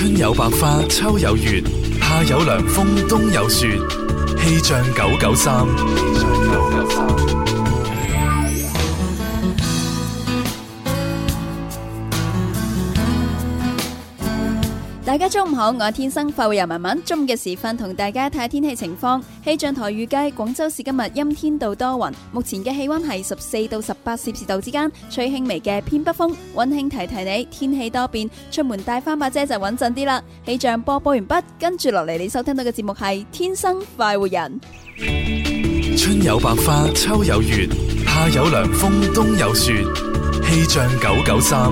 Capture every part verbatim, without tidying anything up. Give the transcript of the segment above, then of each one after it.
春有百花，秋有月，夏有涼風，冬有雪。氣象九九三。 大家中午好，我係天生快活人文文。中午嘅時分同大家睇下天氣情況。氣象台預計廣州市今日陰天到多雲，目前嘅氣溫係十四到十八攝氏度之間，吹輕微嘅偏北風。溫馨提提你，天氣多變，出門帶翻把遮就穩陣啲啦。氣象播報完畢，跟住落嚟你收聽到嘅節目係天生快活人。 春有百花，秋有月，夏有涼風，冬有雪。氣象九九三。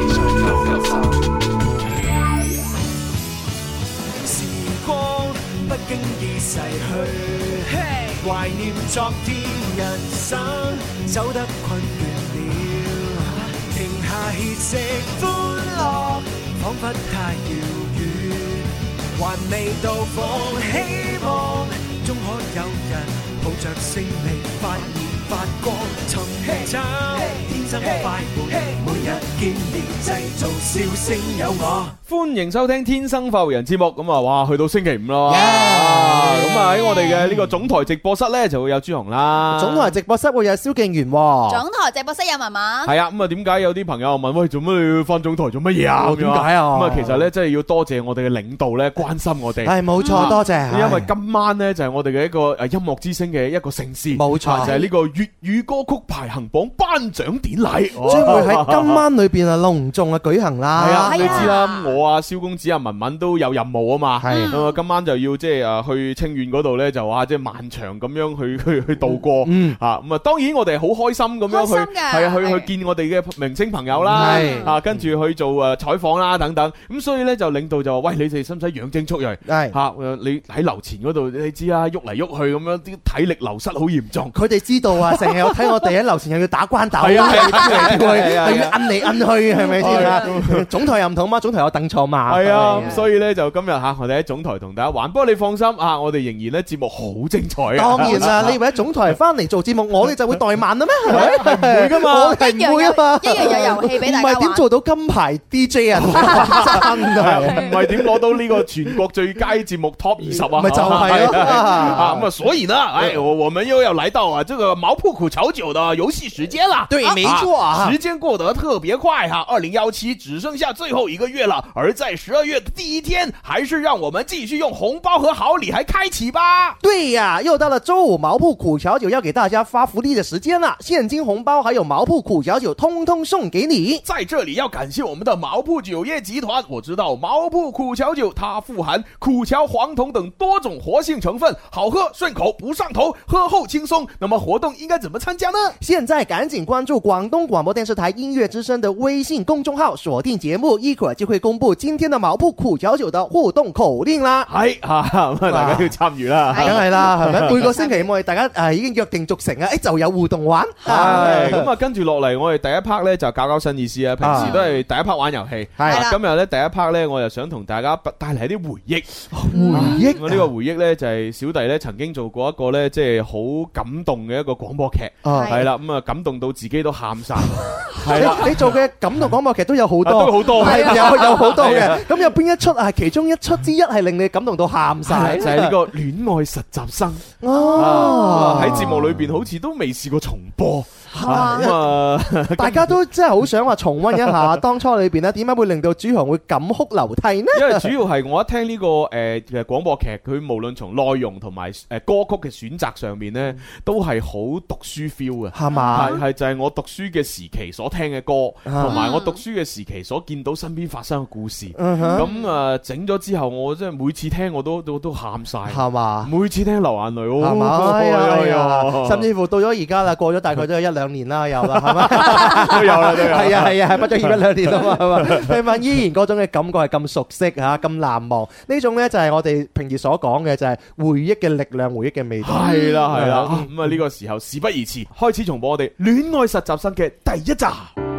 不經意逝去，懷念昨天，人生走得困倦了，停下歇息，歡樂彷彿太遙遠，還未到訪，希望終可有人抱着勝利發現發光，尋找天生快活，每日見面製造笑聲有我。 歡迎收聽天生快活人節目，咁啊，哇，去到星期五啦，咁啊喺我哋嘅呢個總台直播室咧就會有朱紅啦， 總台直播室會有蕭敬元，總台直播室有文文， 係啊，咁啊點解有啲朋友問喂，做乜你要翻總台做乜嘢啊？ 點解啊？ 咁啊其實咧真係要多謝我哋嘅領導咧關心我哋， 係冇錯，多謝， 因為今晚咧就係我哋嘅一個誒音樂之星嘅一個盛事， 冇錯， 就係呢個粵語歌曲排行榜頒獎典禮， 將會喺今晚裏邊啊隆重啊舉行啦。 係啊，你知啦，我啊蕭公子啊文文都有任務啊嘛， 係咁啊今晚就要即係誒去清遠嗰度咧就話即係漫長咁樣去去去度過，嗯啊咁啊當然我哋好開心咁樣去係啊去去見我哋嘅明星朋友啦，啊跟住去做誒採訪啦等等，咁所以咧就領導就話喂，你哋使唔使養精蓄銳？係吓你喺樓前嗰度你知啦，喐嚟喐去咁樣啲體力流失好嚴重。 佢哋知道啊，成日有睇我哋喺樓前又要打關鬥， 係啊係啊，又要摁嚟摁去，係咪先啊？總台又唔同嘛，總台有凳坐嘛。 係啊，所以咧就今日吓我哋喺總台同大家玩，不過你放心啊，我哋仍然咧節目好精彩啊！ 當然啦，你以為喺總台翻嚟做節目，我哋就會怠慢啦咩？係咪？ 係唔會噶嘛， 我係唔會啊嘛， 一樣有遊戲俾大家玩。 唔係點做到金牌 D J 啊？真係唔係點攞到呢個全國最佳節目 Top 二十啊？ 咪就係咯啊咁啊，所以呢，哎，我我們又要來到啊這個毛鋪苦蕎酒的遊戲時間啦。 對，沒錯啊， 時間過得特別快哈，二零一七只剩下最後一個月了，而在十二月的第一天，還是讓我們繼續用紅包和好禮還開啟吧。 對呀、啊，又到了周五毛鋪苦蕎酒要給大家發福利的時間了，現金紅包還有毛鋪苦蕎酒通通送給你。 在這裡要感謝我們的毛鋪酒業集團，我知道毛鋪苦蕎酒它富含苦蕎、黃酮等多種活性成分，好喝順口不上頭，喝後輕鬆。那麼活動應該怎麼參加呢？ 現在趕緊關注廣東廣播電視台音樂之聲的微信公眾號，鎖定節目，一會兒就會公布今天的毛鋪苦蕎酒的互動口令啦。 係吓，咁啊大家要參與啦， 梗係啦，係咪？每個星期我哋大家誒已經約定俗成啊，誒就有互動玩。 係咁啊，跟住落嚟我哋第一 part 咧就搞搞新意思啊，平時都係第一 part 玩遊戲，係今日咧第一 part 咧我就想同大家帶嚟一啲回憶。 回憶， 我呢個回憶咧就係小弟咧曾經做過一個咧即係好感動嘅一個廣播劇，係啦，咁啊感動到自己都喊晒。係啦， 你做嘅感動廣播劇都有好多， 都好多， 係有有好多嘅。咁有邊一出啊？其中一出之一係令你感動到喊晒， 就係呢個戀愛實習生。 哦， 喺節目裏邊好似都未試過重播。 咁啊，大家都真係好想話重溫一下當初裏邊咧，點解會令到朱紅會感哭流涕呢？ 因為主要係我一聽呢個誒嘅廣播劇，佢無論從內容同埋誒歌曲嘅選擇上面咧，都係好讀書 feel 嘅， 係嘛？ 係係就係我讀書嘅時期所聽嘅歌，同埋我讀書嘅時期所見到身邊發生嘅故事。咁啊整咗之後，我真係每次聽我都都都喊晒，係嘛？每次聽流眼淚，係嘛？ 係啊，甚至乎到咗而家啦，過咗大概都有一兩。兩年啦，有啦，係嘛？都有啦，都有。係啊，係啊，係畢咗業一兩年啊嘛，係嘛？聽聞依然嗰種嘅感覺係咁熟悉嚇，咁難忘。呢種咧就係我哋平時所講嘅，就係回憶嘅力量，回憶嘅味道。 係啦，係啦。咁啊，呢個時候事不宜遲，開始重播我哋戀愛實習生嘅第一集。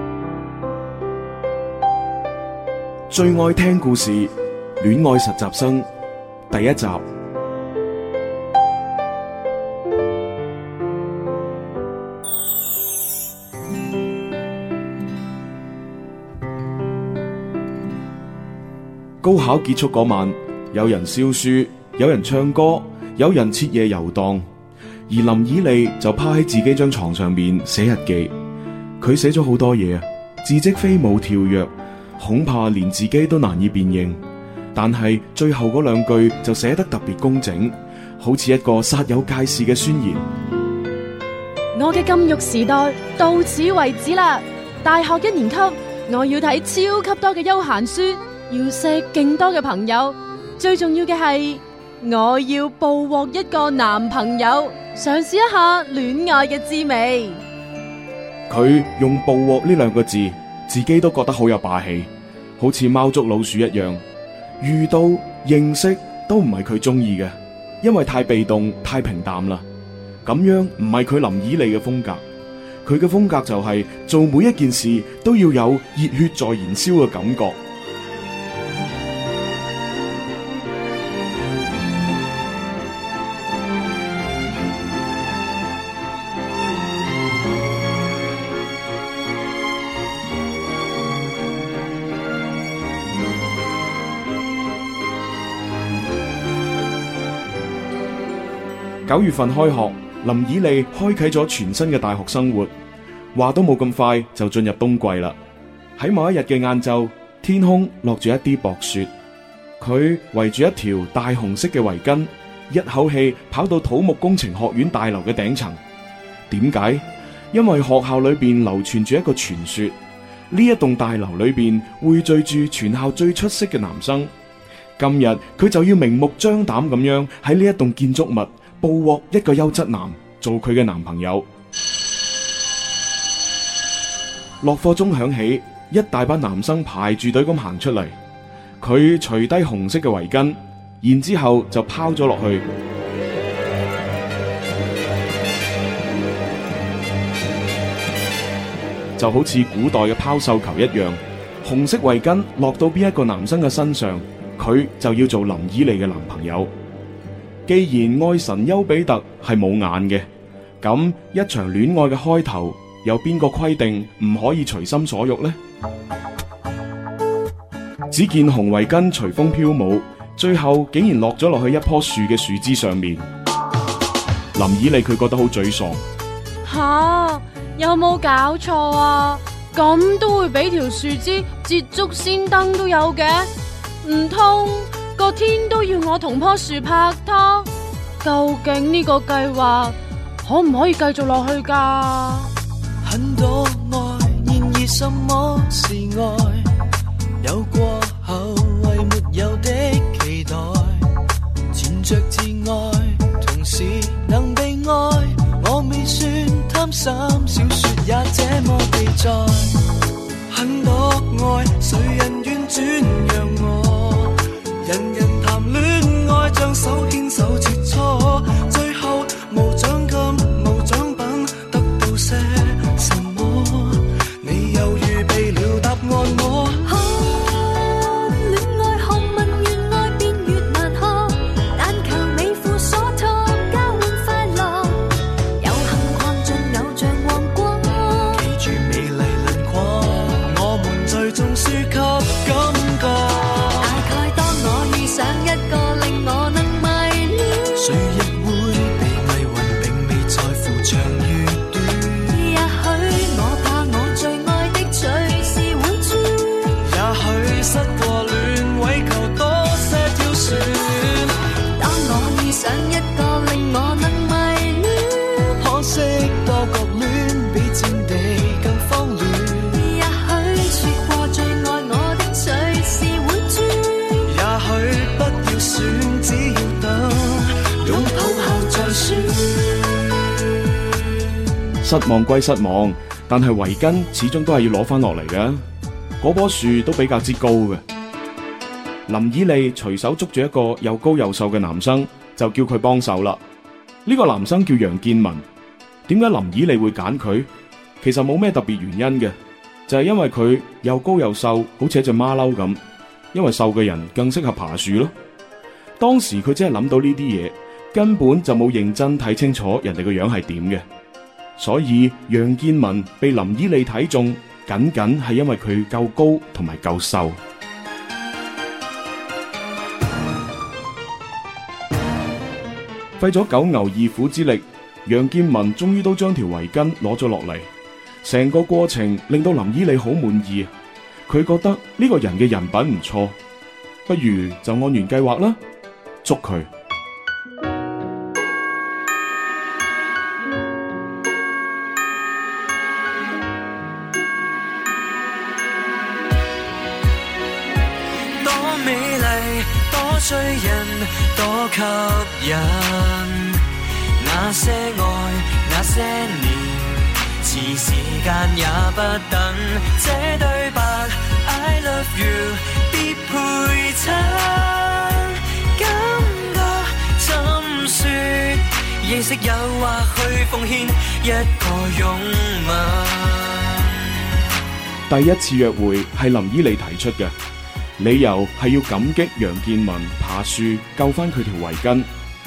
最愛聽故事《戀愛實習生》第一集。 高考結束嗰晚，有人燒書，有人唱歌，有人徹夜遊蕩，而林以莉就趴喺自己張床上面寫日記。佢寫咗好多嘢啊，字跡飛舞跳躍，恐怕連自己都難以辨認。但係最後嗰兩句就寫得特別工整，好似一個煞有介事嘅宣言。 我嘅禁欲時代到此為止啦！大學一年級，我要睇超級多嘅休閒書，要識勁多嘅朋友，最重要嘅係我要捕獲一個男朋友，嘗試一下戀愛嘅滋味。 佢用捕獲呢兩個字，自己都覺得好有霸氣，好似貓捉老鼠一樣。遇到認識都唔係佢中意嘅，因為太被動太平淡啦。咁樣唔係佢林以莉嘅風格，佢嘅風格就係做每一件事都要有熱血在燃燒嘅感覺。九月份開學，林以莉開啟咗全新嘅大學生活，話都冇咁快就進入冬季啦。喺某一日嘅晏晝，天空落住一啲薄雪，佢圍住一條大紅色嘅圍巾，一口氣跑到土木工程學院大樓嘅頂層。點解？因為學校裏邊流傳住一個傳說，呢一棟大樓裏邊匯聚住全校最出色嘅男生。今日佢就要明目張膽咁樣喺呢一棟建築物捕獲一個優質男做佢嘅男朋友。落課鐘響起，一大班男生排住隊咁行出嚟。佢除低紅色嘅圍巾，然之後就拋咗落去，就好似古代嘅拋繡球一樣。紅色圍巾落到邊一個男生嘅身上，佢就要做林以莉嘅男朋友。既然愛神丘比特係冇眼嘅，咁一場戀愛嘅開頭，有邊個規定唔可以隨心所欲呢？只見紅圍巾隨風飄舞，最後竟然落咗落去一棵樹嘅樹枝上面。林以莉佢覺得好沮喪。 吓，有冇搞錯啊？咁都會俾條樹枝捷足先登都有嘅？唔通個天都要我同棵樹拍拖？究竟呢個計劃可唔可以繼續落去噶？ 很多愛，然而什麼是愛？有過後為沒有的期待，纏着自愛，同時能被愛。我未算貪心，小說也這麼記載。很多愛，誰人願轉讓我？人人談戀愛，將手牽手切磋，最後無獎金無獎品，得到些什麼？你又預備了答案我？ 看戀愛學問越愛便越難學，但求你付所託交換快樂，有幸逛盡偶像王國， 記住美麗輪廓，我們最終輸給感覺。 想一個令我能迷戀， 誰亦會被迷暈，並未在乎長與短。 也許我怕我最愛的隨時會轉， 也許失過戀，為求多些挑選。 當我遇上一個令我能迷戀， 可惜多角戀比戰地更慌亂。 也許說過最愛我的隨時會轉， 也許不要選，只要等擁抱後再說。 失望歸失望，但係圍巾始終都係要攞翻落嚟嘅。嗰棵樹都比較之高嘅。林以莉隨手捉住一個又高又瘦嘅男生，就叫佢幫手啦。呢個男生叫楊建文。點解林以莉會揀佢？其實冇咩特別原因嘅，就係因為佢又高又瘦，好似一隻馬騮咁。因為瘦嘅人更適合爬樹咯。當時佢只係諗到呢啲嘢，根本就冇認真睇清楚人哋個樣係點嘅。所以楊建文被林以莉睇中，僅僅係因為佢夠高同埋夠瘦。 費咗九牛二虎之力，楊建文終於都將條圍巾攞咗落嚟。成個過程令到林依莉好滿意，佢覺得呢個人嘅人品唔錯，不如就按原計劃啦，捉佢。 多美麗，多醉人，多吸引，那些愛，那些年。遲時間也不等，這對白 I love you 必配襯，感覺怎說，認識誘惑去奉獻一個擁吻。 第一次約會係林依莉提出嘅，理由係要感激楊建文爬樹救翻佢條圍巾。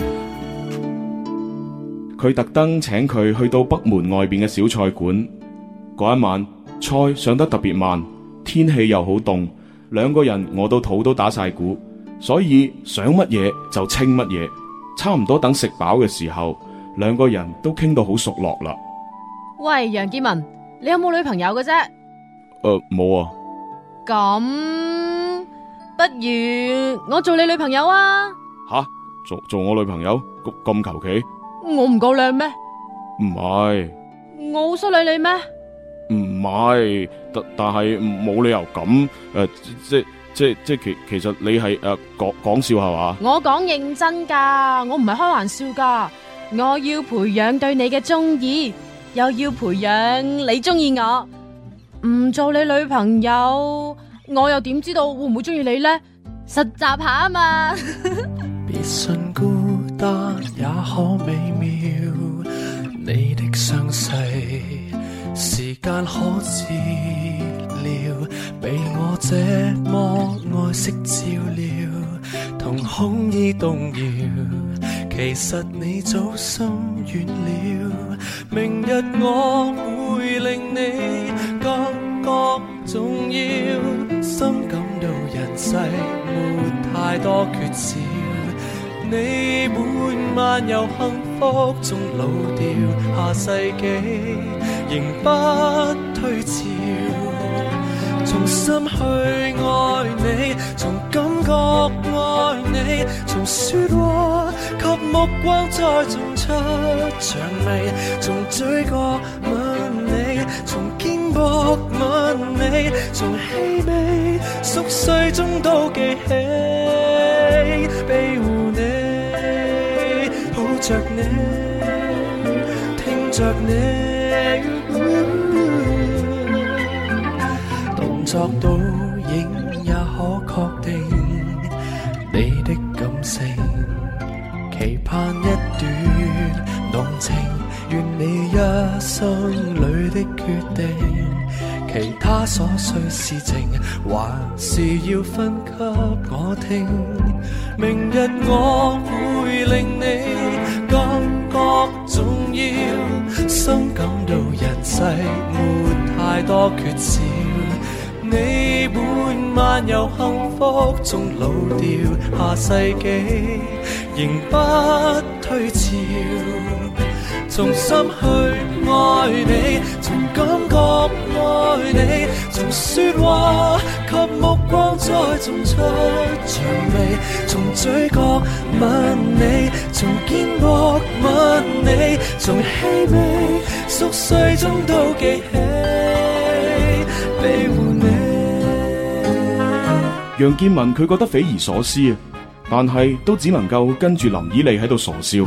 佢特登請佢去到北門外邊嘅小菜館。嗰一晚菜上得特別慢，天氣又好凍，兩個人餓到肚都打晒鼓，所以想乜嘢就清乜嘢。差唔多等食飽嘅時候，兩個人都傾到好熟絡啦。 喂，楊建文，你有冇女朋友嘅啫？ 誒、呃，冇啊。 咁不如我做你女朋友啊？ 吓，做做我女朋友咁咁求其？ 我唔夠靚咩？ 唔係。 我好失禮你咩？ 唔係，但但係冇理由咁誒、呃，即即即其其實你係誒講講笑係嘛？ 我講認真噶，我唔係開玩笑噶。我要培養對你嘅中意，又要培養你中意我。唔做你女朋友，我又點知道會唔會中意你呢？實習下啊嘛。 別信孤單也可美妙，你的傷勢時間可治療，被我這麼愛惜照料，瞳孔已動搖，其實你早心軟了，明日我會令你感覺重要，深感到人世沒太多缺少，你每晚由幸福中老掉，下世紀仍不退潮，從心去愛你，從感覺愛你，從說話及目光再種出薔薇，從嘴角吻你，從肩膊吻你，從氣味熟睡中都記起，庇護你，抱着你，聽着你，動作倒影也可確定你的感性，期盼一段濃情，願你一生裏的決定，其他瑣碎事情還是要分給我聽，明日我會令你感覺重要，深感到人世沒太多缺少，你每晚由幸福中老掉，下世紀仍不退潮，從心去愛你，從感覺愛你，從說話及目光再種出薔薇，從嘴角吻你，從肩膊吻你，從氣味熟睡中都記起，庇護你。 楊建文佢覺得匪夷所思啊，但係都只能夠跟住林依莉喺度傻笑。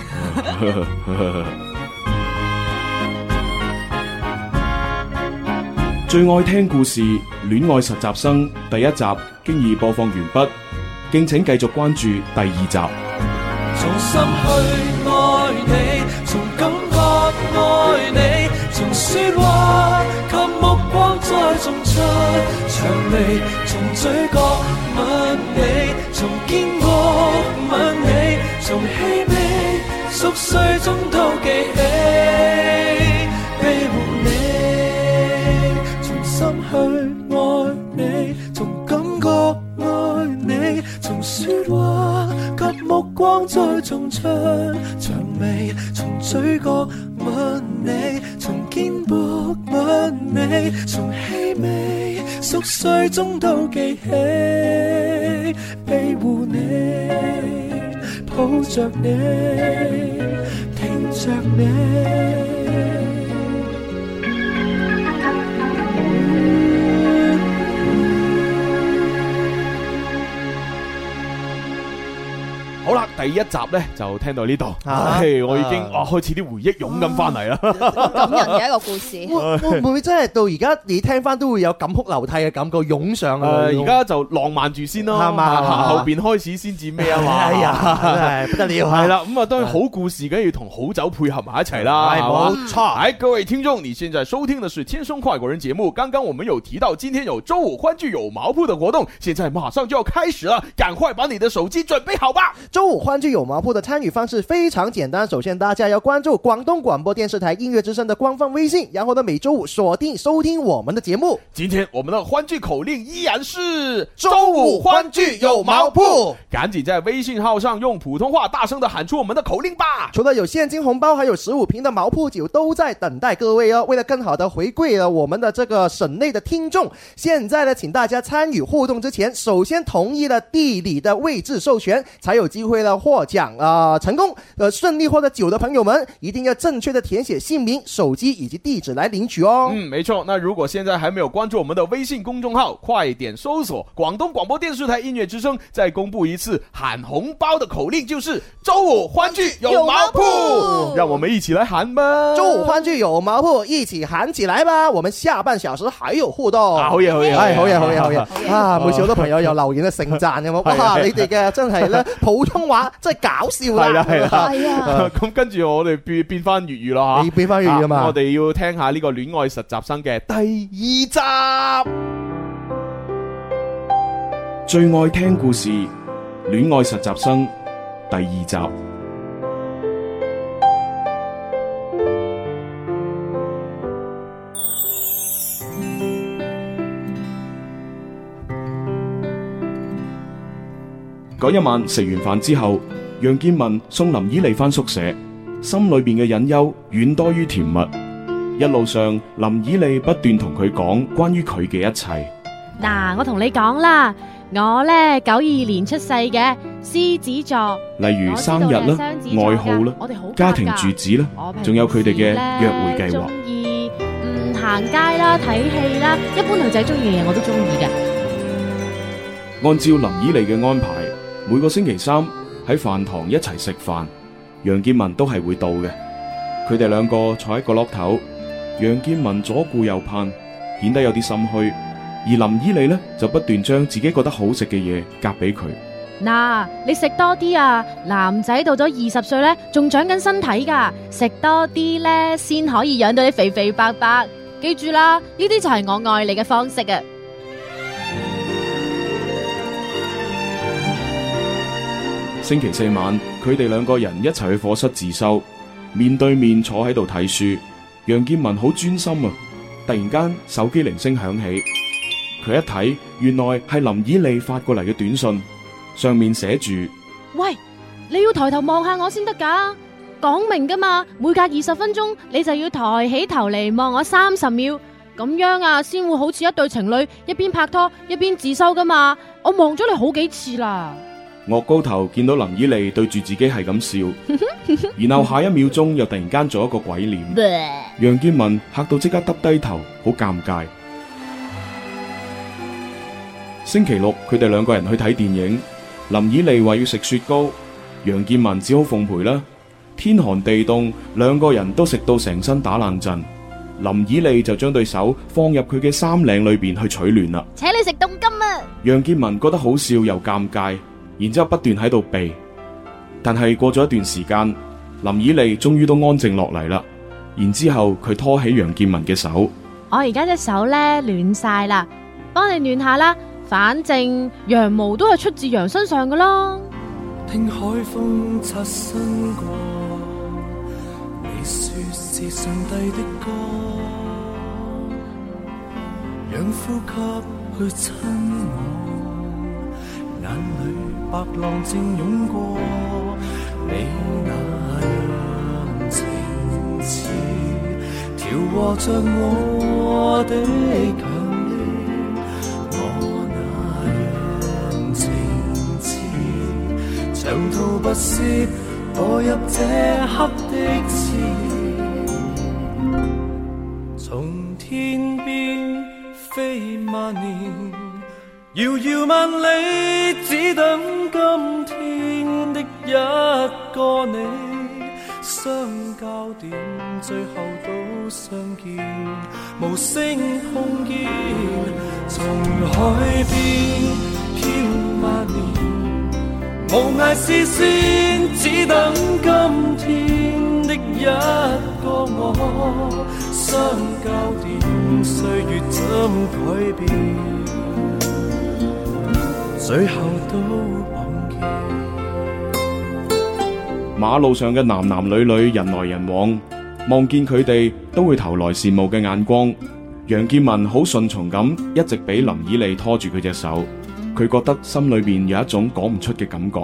最愛聽故事《戀愛實習生》第一集經已播放完畢，敬請繼續關注第二集。 從心去愛你，從感覺愛你，從說話及目光再種出薔薇，從嘴角吻你，從肩膊吻你，從氣味熟睡中都記起，庇護你，從心去愛你，從感覺愛你，從說話及目光光再種出薔薇，從嘴角吻你，從肩膊吻你，從氣味熟睡中都記起，庇護你，抱着你，聽着你。 好啦，第一集咧就聽到呢度，唉，我已經啊開始啲回憶湧緊翻嚟啦， 感人嘅一個故事。 會唔會真係到而家你聽翻都會有感哭流涕嘅感覺湧上啊？ 而家就浪漫住先咯，係嘛？後邊開始先至咩啊嘛？ 哎呀，真係不得了！ 係啦，咁啊當然好故事梗要同好酒配合埋一齊啦，係嘛？冇錯。哎，各位聽眾，你現在收聽的是《天生快活人》節目。剛剛我們有提到，今天有周五歡聚有毛鋪的活動，現在馬上就要開始了，趕快把你的手機準備好吧。 周五歡聚有毛鋪的參與方式非常簡單，首先大家要關注廣東廣播電視台音樂之聲的官方微信，然後呢每周五鎖定收聽我們的節目。 今天我們的歡聚口令依然是周五歡聚有毛鋪， 趕緊在微信號上用普通話大聲的喊出我們的口令吧。 除了有現金紅包，還有十五瓶的毛鋪酒都在等待各位哦。為了更好的回饋了我們的這個省內的聽眾，現在呢請大家參與互動之前，首先同意了地理的位置授權，才有機會了獲獎啊、呃！成功呃順利獲得酒的朋友們，一定要正確的填寫姓名、手機以及地址來領取哦。 嗯，沒錯。那如果現在還沒有關注我們的微信公眾號，快點搜索廣東廣播電視台音樂之聲，再公布一次喊紅包的口令，就是周五歡聚有毛鋪，讓我們一起來喊吧！ 周五歡聚有毛鋪，一起喊起來吧！我們下半小時還有互動。 啊，好嘢，好嘢， 係好嘢，好嘢，好嘢！啊，每次好多朋友有留言嘅盛讚咁，哇！你哋嘅真係咧普通話真係搞笑啦， 係啦，係啦， 係啊！ 咁跟住我哋變變翻粵語啦嚇， 你變翻粵語啊嘛！ 我哋要聽下呢個戀愛實習生嘅第二集， 最愛聽故事，戀愛實習生第二集。嗰一晚食完飯之後，楊建文送林以莉返宿舍，心裏邊嘅隱憂遠多於甜蜜。一路上，林以莉不斷同佢講關於佢嘅一切。 嗱，我同你講啦，我呢九二年出世嘅，獅子座， 例如生日啦、愛好啦、家庭住址啦，仲有佢哋嘅約會計劃。 中意嗯行街啦、睇戲啦，一般女仔中意嘅嘢我都中意嘅。 按照林以莉嘅安排，每個星期三喺飯堂一齊食飯，楊建文都係會到嘅。佢哋兩個坐喺角落頭，楊建文左顧右盼，顯得有啲心虛，而林以莉呢，就不斷將自己覺得好食嘅嘢夾俾佢。 嗱，你食多啲啊！男仔到咗二十歲呢，仲長緊身體噶，食多啲呢，先可以養到你肥肥白白。記住啦，呢啲就係我愛你嘅方式啊！ 星期四晚，佢哋兩個人一齊去課室自修，面對面坐喺度睇書。楊建文好專心啊！突然間手機鈴聲響起，佢一睇，原來係林以莉發過嚟嘅短信，上面寫住： 喂，你要抬頭望下我先得噶，講明噶嘛，每隔二十分鐘你就要抬起頭嚟望我三十秒，咁樣啊，先會好似一對情侶一邊拍拖一邊自修噶嘛。我望咗你好幾次啦。 岳高頭見到林以莉對住自己係咁笑，然後下一秒鐘又突然間做一個鬼臉，楊建文嚇到即刻耷低頭，好尷尬。星期六佢哋兩個人去睇電影，林以莉話要食雪糕，楊建文只好奉陪啦。天寒地凍，兩個人都食到成身打冷震，林以莉就將對手放入佢嘅衫領裏邊去取暖啦。 請你食凍金啊！ 楊建文覺得好笑又尷尬。然之後不斷喺度避，但係過咗一段時間，林以莉終於都安靜落嚟啦。然之後佢拖起楊建文嘅手， 我而家隻手咧暖晒啦，幫你暖下啦。反正羊毛都係出自羊身上噶啦。 聽海風擦身過，你說是上帝的歌，讓呼吸去親我，眼裏白浪正湧過， 你那樣情似調和着我的強烈，我那樣情似長途跋涉墮入這刻的刺，從天邊飛萬年，遙遙萬里，只等今天的一個你，相交點最後都相見，無聲碰見，從海邊飄萬年，無涯視線，只等今天的一個我，相交點歲月怎改變，最後都碰見。 馬路上嘅男男女女人來人往，望見佢哋都會投來羨慕嘅眼光。楊建文好順從咁一直俾林以利拖住佢隻手，佢覺得心裏邊有一種講唔出嘅感覺。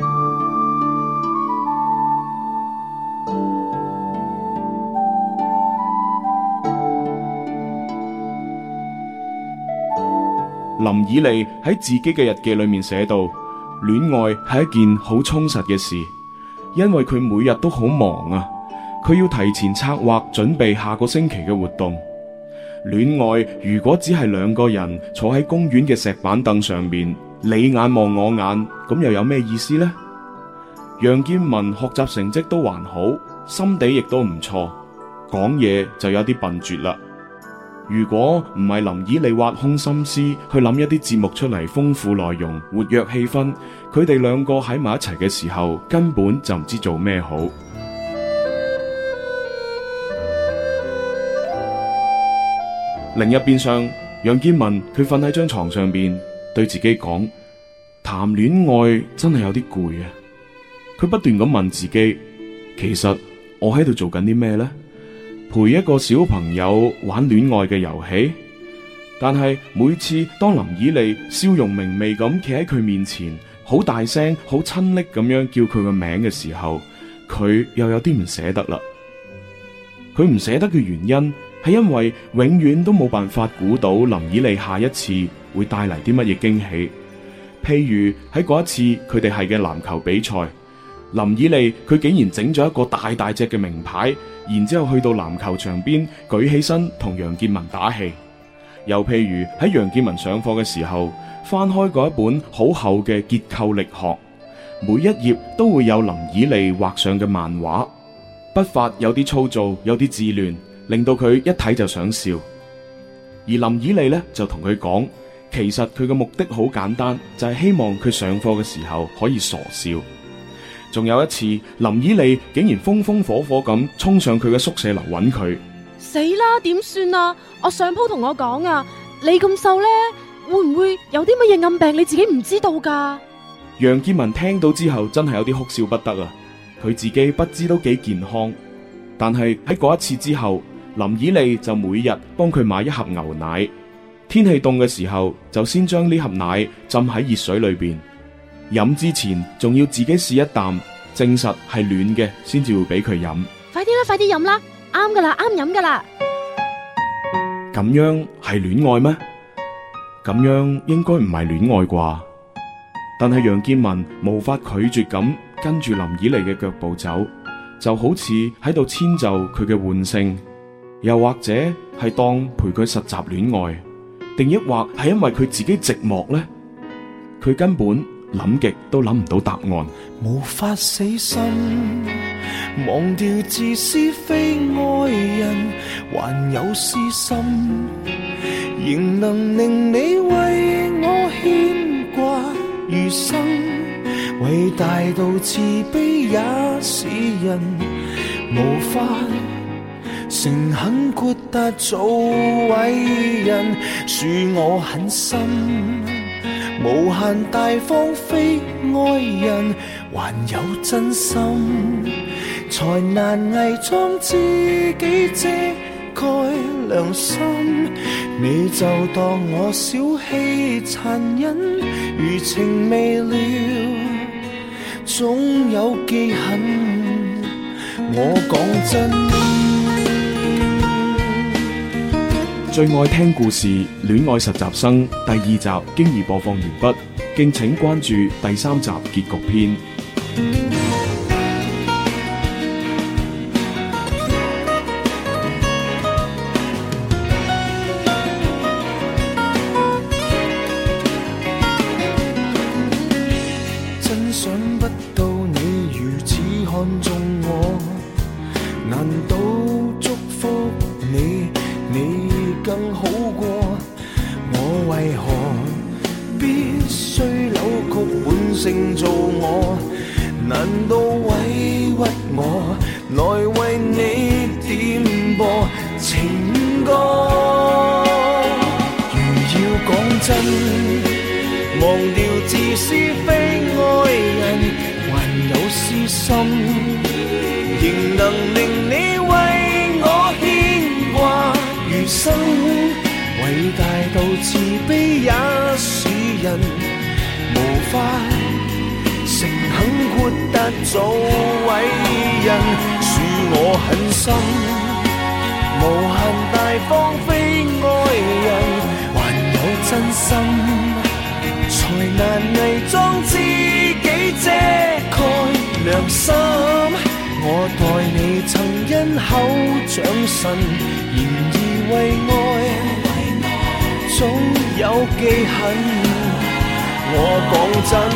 林以利喺自己嘅日記裏面寫到，戀愛係一件好充實嘅事，因為佢每日都好忙啊，佢要提前策劃準備下個星期嘅活動。戀愛如果只係兩個人坐喺公園嘅石板凳上面，你眼望我眼，咁又有咩意思呢？楊建文學習成績都還好，心地亦都唔錯，講嘢就有啲笨拙啦。如果唔係林以利挖空心思去諗一啲節目出嚟豐富內容、活躍氣氛，佢哋兩個喺埋一齊嘅時候根本就唔知做咩好。另一邊上，楊建文佢瞓喺張床上邊，對自己講：談戀愛真係有啲攰啊！佢不斷咁問自己，其實我喺度做緊啲咩呢？陪一個小朋友玩戀愛嘅遊戲，但係每次當林以利笑容明媚咁企喺佢面前，好大聲、好親昵咁樣叫佢個名嘅時候，佢又有啲唔捨得啦。佢唔捨得嘅原因係因為永遠都冇辦法估到林以利下一次會帶嚟啲乜嘢驚喜。譬如喺嗰一次佢哋係嘅籃球比賽，林以利佢竟然整咗一個大大隻嘅名牌，然之後去到籃球場邊舉起身同楊建文打氣。又譬如喺楊建文上課嘅時候，翻開嗰一本好厚嘅結構力學，每一頁都會有林以利畫上嘅漫畫，筆法有啲粗糙，有啲稚亂，令到佢一睇就想笑。而林以利呢，就同佢講，其實佢嘅目的好簡單，就係希望佢上課嘅時候可以傻笑。仲有一次，林以利竟然風風火火咁衝上佢嘅宿舍樓揾佢。 死啦，點算啊？我上鋪同我講啊，你咁瘦呢，會唔會有啲乜嘢暗病你自己唔知道噶？ 楊建文聽到之後真係有啲哭笑不得啊！佢自己不知都幾健康，但係喺嗰一次之後，林以利就每日幫佢買一盒牛奶，天氣凍嘅時候就先將呢盒奶浸喺熱水裏邊，飲之前仲要自己試一啖，證實係暖嘅先至會俾佢飲。 快啲啦，快啲飲啦，啱噶啦，啱飲噶啦。 咁樣係戀愛咩？咁樣應該唔係戀愛啩？但係楊建文無法拒絕咁跟住林以利嘅腳步走，就好似喺度遷就佢嘅喚聲，又或者係當陪佢實習戀愛，定抑或係因為佢自己寂寞呢？佢根本諗極都諗唔到答案。 無法死心，忘掉自私非愛人，還有私心，仍能令你為我牽掛餘生。偉大到慈悲也是人，無法誠懇豁達做偉人，恕我狠心，無限大方非愛人，還有真心，才難偽裝自己遮蓋良心。你就當我小氣殘忍，餘情未了， 總有記恨。我講真。 最愛聽故事《戀愛實習生》第二集經已播放完畢，敬請關注第三集結局篇。 真想不到你如此看重我，難道祝福你？你更好過，我為何必須扭曲本性做我？難道委屈我來為你點播情歌？如要講真，忘掉自私非愛人，還有私心，仍能令你為我牽掛。餘生偉大到慈悲也是人，無法誠懇豁達做偉人，恕我狠心，無限大方非愛人，還有真心，才難偽裝自己遮蓋良心。我待你曾因口長神，然而為愛總有記恨。我講真，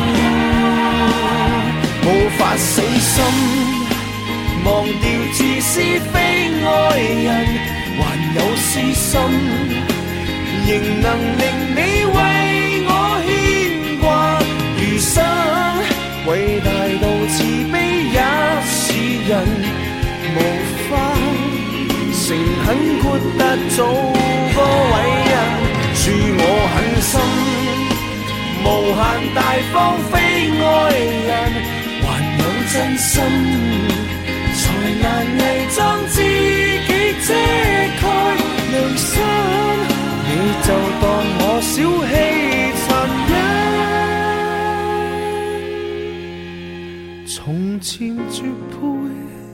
無法死心，忘掉自私非愛人，還有私心，仍能令你為我牽掛。餘生偉大到慈悲也是人，無法誠懇豁達做個偉人，恕我狠心，無限大方非愛人，還有真心，才難偽裝自己遮蓋良心。你就當我小氣殘忍，從前絕配。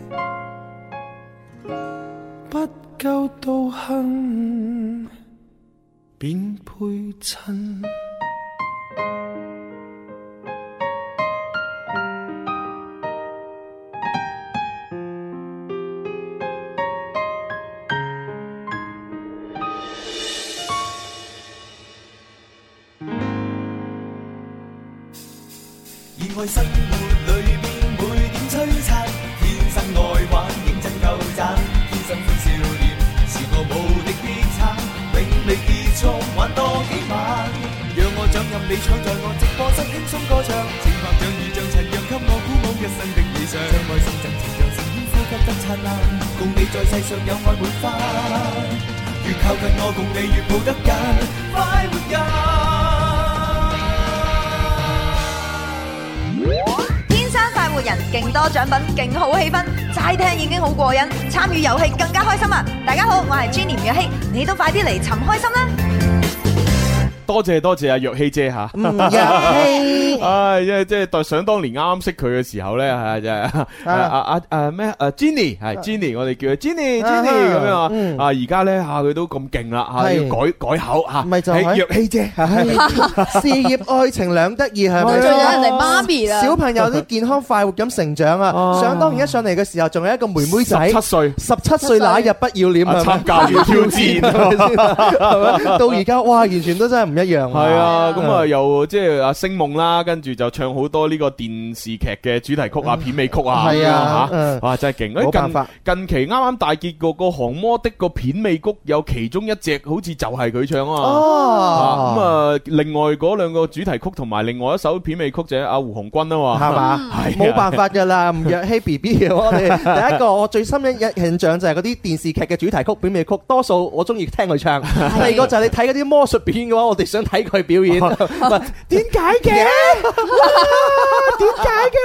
不夠道行，便配襯。 現愛生活裏面每點璀璨，天生愛玩認真夠讚。新歡少年是個無敵必撐，永未結束玩多幾晚。讓我掌任你搶在我直播室輕鬆歌唱，情拍像雨像塵讓給我鼓舞一生的理想。將愛心贈情讓聲音呼吸得燦爛，共你在世上有愛滿花。越靠近我共你越抱得緊，快活人。 快活人，勁多獎品，勁好氣氛，齋聽已經好過癮，參與遊戲更加開心啊！大家好，我係 Jenny 吳若希，你都快啲嚟尋開心啦！ 多謝多謝阿若希姐吓， 若希， 唉，即係即係想當年啱啱識佢嘅時候咧，係即係阿阿阿咩誒 Jenny 係 Jenny，我哋叫佢 Jenny Jenny 咁樣啊，啊而家咧吓佢都咁勁啦吓，要改改口吓， 咪就係若希姐， 事業愛情兩得意係咪？ 仲有人哋媽咪啦， 小朋友都健康快活咁成長啊！想當年一上嚟嘅時候，仲有一個妹妹仔， 十七歲， 十七歲那日不要臉啊， 參加完挑戰， 係咪？到而家哇，完全都真係唔一樣。 係啊，咁啊又即係啊星夢啦，跟住就唱好多呢個電視劇嘅主題曲啊、片尾曲啊， 係啊吓， 哇真係勁！ 冇辦法， 近期啱啱大結局個《降魔的》個片尾曲有其中一隻好似就係佢唱啊嘛。哦，咁啊，另外嗰兩個主題曲同埋另外一首片尾曲就係阿胡鴻鈞啊嘛，係嘛，係冇辦法噶啦，吳若希 B B 我哋第一個我最深印印象就係嗰啲電視劇嘅主題曲、片尾曲，多數我中意聽佢唱。第二個就係你睇嗰啲魔術片嘅話，我哋想睇佢表演。點解嘅？點解嘅？好犀利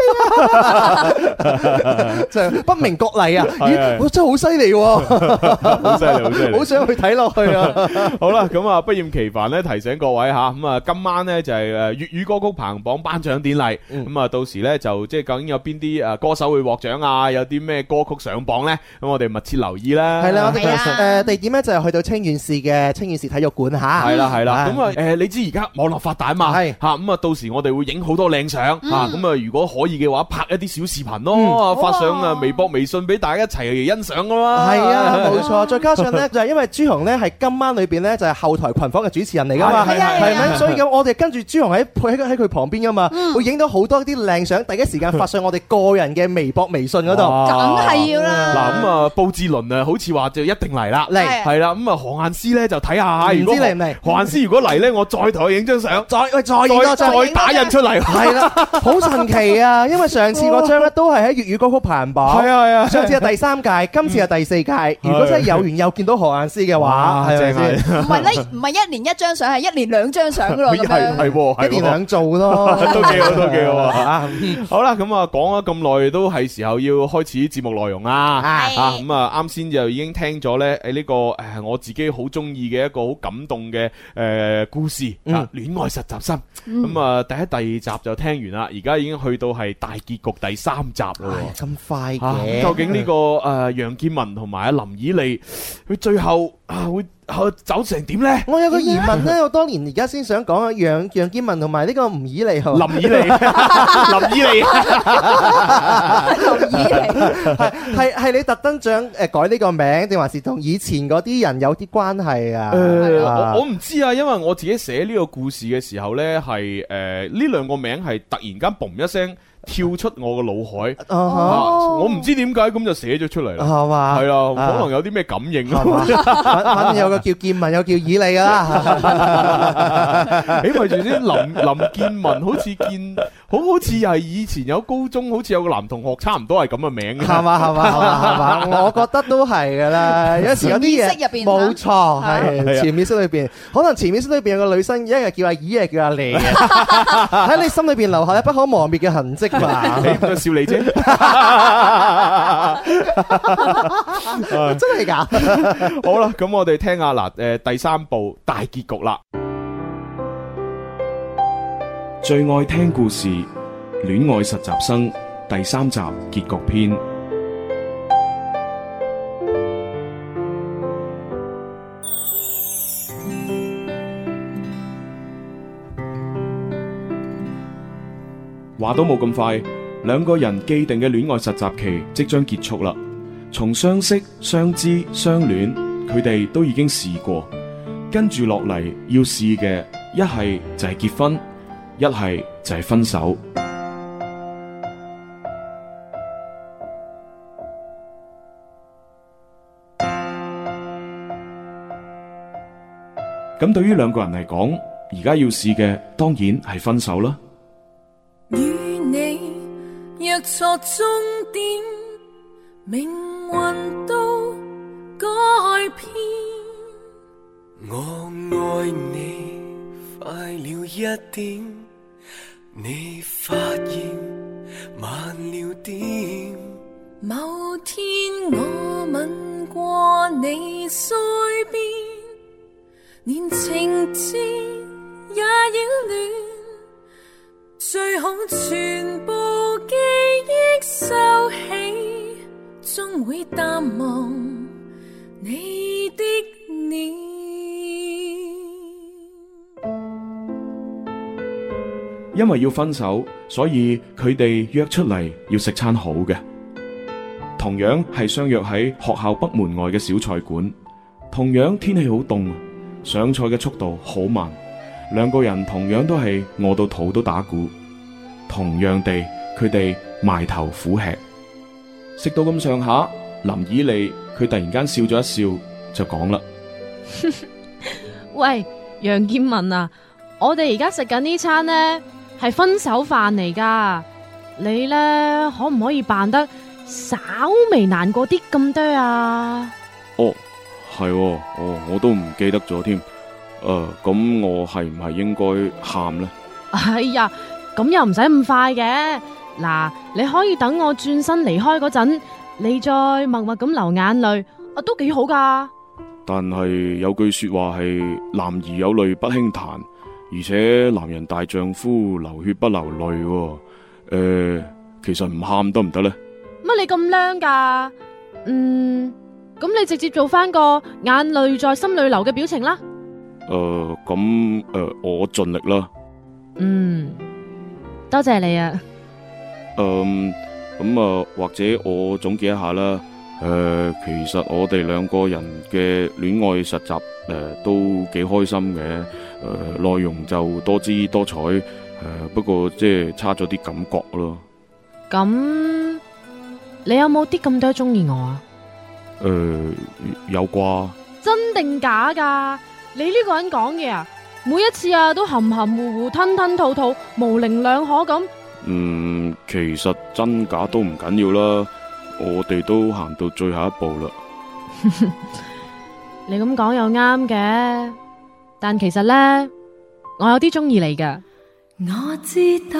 真係不明覺厲啊！咦，我真係好犀利喎， 好犀利，好犀利， 好想去睇落去啊！ 好啦，咁啊，不厭其煩咧，提醒各位吓，咁啊，今晚咧就係誒粵語歌曲排行榜頒獎典禮，咁啊，到時咧就即係究竟有邊啲誒歌手會獲獎啊？有啲咩歌曲上榜咧？咁我哋密切留意啦。 係啦，我哋誒地點咧就係去到清遠市嘅清遠市體育館吓。 係啦，係啦。咁啊誒，你知而家網絡發達嘛？係吓，咁啊，到時我哋會影好多靚相吓，咁啊，如果可以嘅話，拍一啲小視頻咯，發上啊微博、微信俾大家一齊欣賞噶嘛。 係啊，冇錯。再加上咧，就係因為朱紅咧係今晚裏邊咧就係後台群訪嘅主持人嚟噶嘛，係咪？所以咁我哋跟住朱紅喺喺喺佢旁邊噶嘛，會影到好多啲靚相，第一時間發上我哋個人嘅微博、微信嗰度。 梗係要啦。 嗱咁啊，布志倫啊，好似話就一定嚟啦，嚟係啦。咁啊，何雁詩咧就睇下，唔知嚟唔嚟？何雁詩如果嚟咧，我再同佢影張相，再喂再影多張，再打印出嚟。係啦， 好神奇啊！因為上次嗰張咧都係喺粵語歌曲排行榜，係啊係啊，上次係第三屆，今次係第四屆。如果真係有緣又見到何雁詩嘅話，係咪先？ 唔係咧，唔係一年一張相，係一年兩張相咯。咁樣係係一年兩做咯， 都幾好，都幾好啊！好啦，咁啊講咗咁耐，都係時候要開始節目內容啦。啊咁啊，啱先就已經聽咗咧誒呢個誒我自己好中意嘅一個好感動嘅誒故事啊，戀愛實習生。咁啊第一第二集就聽完啦，而家已經去到係大結局第三集咯。 咁快嘅？ 究竟呢個誒楊建文同埋阿林以利，佢最後啊會走成點咧？ 我有個疑問咧，我當年而家先想講啊，楊楊建文同埋呢個吳以利，林以利，林以利， 林以利， 係係你特登想誒改呢個名，定還是同以前嗰啲人有啲關係啊？ 誒，我我唔知啊，因為我自己寫呢個故事嘅時候咧，係誒呢兩個名係突然間嘣一聲跳出我個腦海，uh huh. 啊、我唔知點解咁就寫咗出嚟啦，係嘛？係啊，可能有啲咩感應啊？ 反反正有個叫建文，有叫以利噶啦。 誒，咪住先，林林建文好似建，好好似係以前有高中，好似有個男同學，差唔多係咁嘅名。 係嘛係嘛係嘛，我覺得都係噶啦。有時有啲嘢冇錯，係潛意識裏邊，可能潛意識裏邊有個女生，一日叫阿姨，一日叫阿利，喺你心裏邊留下不可磨滅嘅痕跡。你個笑你啫， 真係噶。 好啦，咁我哋聽下嗱，誒第三部大結局啦。 最愛聽故事《戀愛實習生》第三集結局篇。話都冇咁快，兩個人既定嘅戀愛實習期即將結束啦。從相識、相知、相戀，佢哋都已經試過。跟住落嚟要試嘅，一係就係結婚，一係就係分手。咁對於兩個人嚟講，而家要試嘅當然係分手啦。 與你若錯終點，命運都改變。 我愛你快了一點，你發現慢了點。 某天我吻過你腮邊，連情節也擾亂，最好全部記憶收起，終會淡忘你的臉。 因為要分手，所以佢哋約出嚟要食餐好嘅。同樣係相約喺學校北門外嘅小菜館，同樣天氣好凍，上菜嘅速度好慢。兩個人同樣都係餓到肚都打鼓，同樣地，佢哋埋頭苦吃。食到咁上下，林以利佢突然間笑咗一笑，就講啦： 喂，楊建文啊，我哋而家食緊呢餐呢係分手飯嚟噶，你呢可唔可以扮得稍微難過啲咁多啊？ 哦，係喎，哦，我都唔記得咗添。誒、呃，咁我係唔係應該喊呢？ 哎呀，咁又唔使咁快嘅。 嗱，你可以等我轉身離開嗰陣，你再默默咁流眼淚，啊，都幾好噶。 但係有句說話係男兒有淚不輕彈，而且男人大丈夫流血不流淚。誒、呃，其實唔喊得唔得呢？ 乜你咁靚噶？嗯，咁你直接做翻個眼淚在心裏流嘅表情啦。 誒、呃，咁誒、呃，我盡力啦。 嗯，多謝你啊。 嗯，咁啊，或者我總結一下啦。誒、呃，其實我哋兩個人嘅戀愛實習誒、呃、都幾開心嘅。誒、呃，內容就多姿多彩。誒、呃，不過即係差咗啲感覺咯。 咁你有冇啲咁多中意我啊？ 誒、呃，有啩？ 真定假噶？你呢個人講嘢啊，每一次啊都含含糊糊、吞吞吐吐、模棱兩可咁。 嗯，其實真假都唔緊要啦，我哋都行到最後一步啦。 你咁講又啱嘅，但其實呢，我有啲中意你噶。 我知道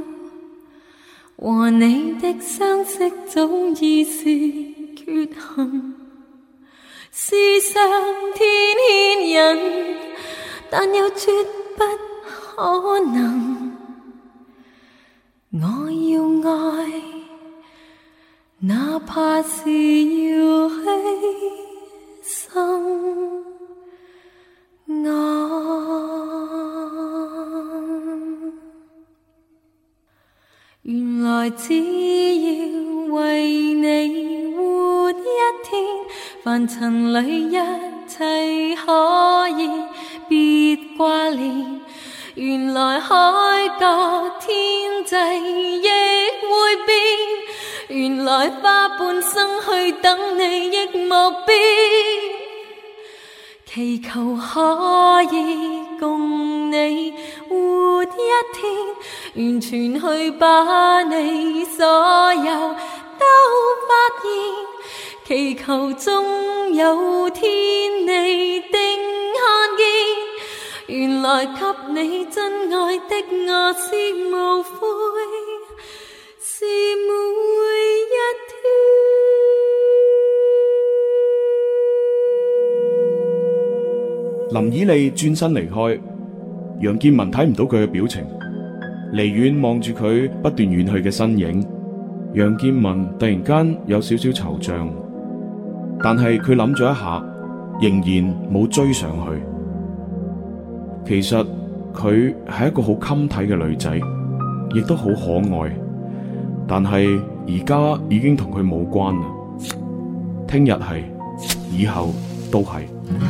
和你的相識早已是缺陷，世上天牽人，但又絕不可能。我要愛，哪怕是要犧牲我。原來只要為你活一天，凡塵裏一切可以別掛念。原來海角天際亦會變，原來花半生去等你亦莫變，祈求可以共你活一天，完全去把你所有都發現，祈求終有天你定看見，原來給你真愛的我是無悔，是每一天。林以利轉身離開，楊建文睇唔到佢嘅表情，離遠望住佢不斷遠去嘅身影。楊建文突然間有少少惆悵，但係佢諗咗一下，仍然冇追上去。其實佢係一個好襟睇嘅女仔，亦都好可愛，但係而家已經同佢冇關啦。聽日係，以後都係。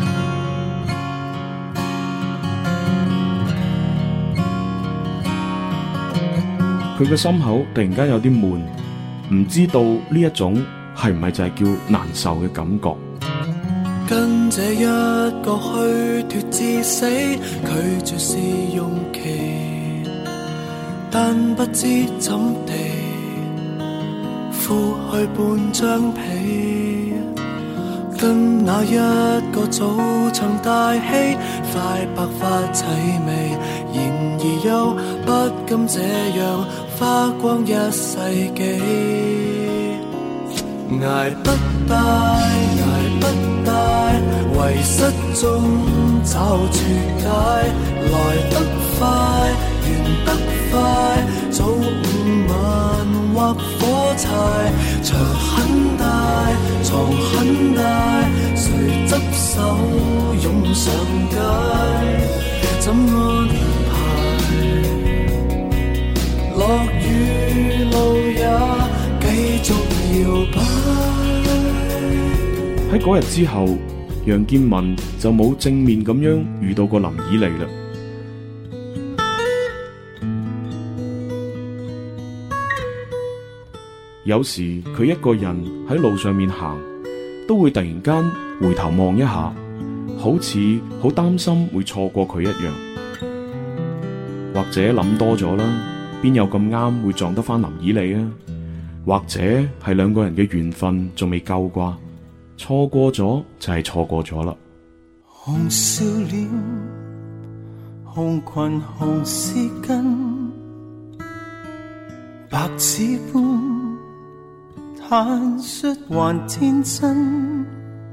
佢嘅心口突然間有啲悶，唔知道呢一種係唔係就係叫難受嘅感覺。 跟這一個虛脫至死，拒絕試用期，但不知怎地敷去半張被，跟那一個早曾大戲，快白髮齊眉，然而又不甘這樣花光一世紀，捱不敗，捱不大，遺失中找絕解，來得快，完得快，早午晚或火柴，牆很大，床很大，誰執手湧上街，怎安排？落雨路也繼續搖擺。 喺嗰日之後，楊建文就冇正面咁樣遇到過林以利啦。有時佢一個人喺路上面行，都會突然間回頭望一下，好似好擔心會錯過佢一樣。或者諗多咗啦，邊有咁啱會撞得返林以利啊？或者係兩個人嘅緣分仲未夠啩？錯過咗就係錯過咗啦。 紅笑臉，紅裙紅絲巾， 白紙般坦率還天真，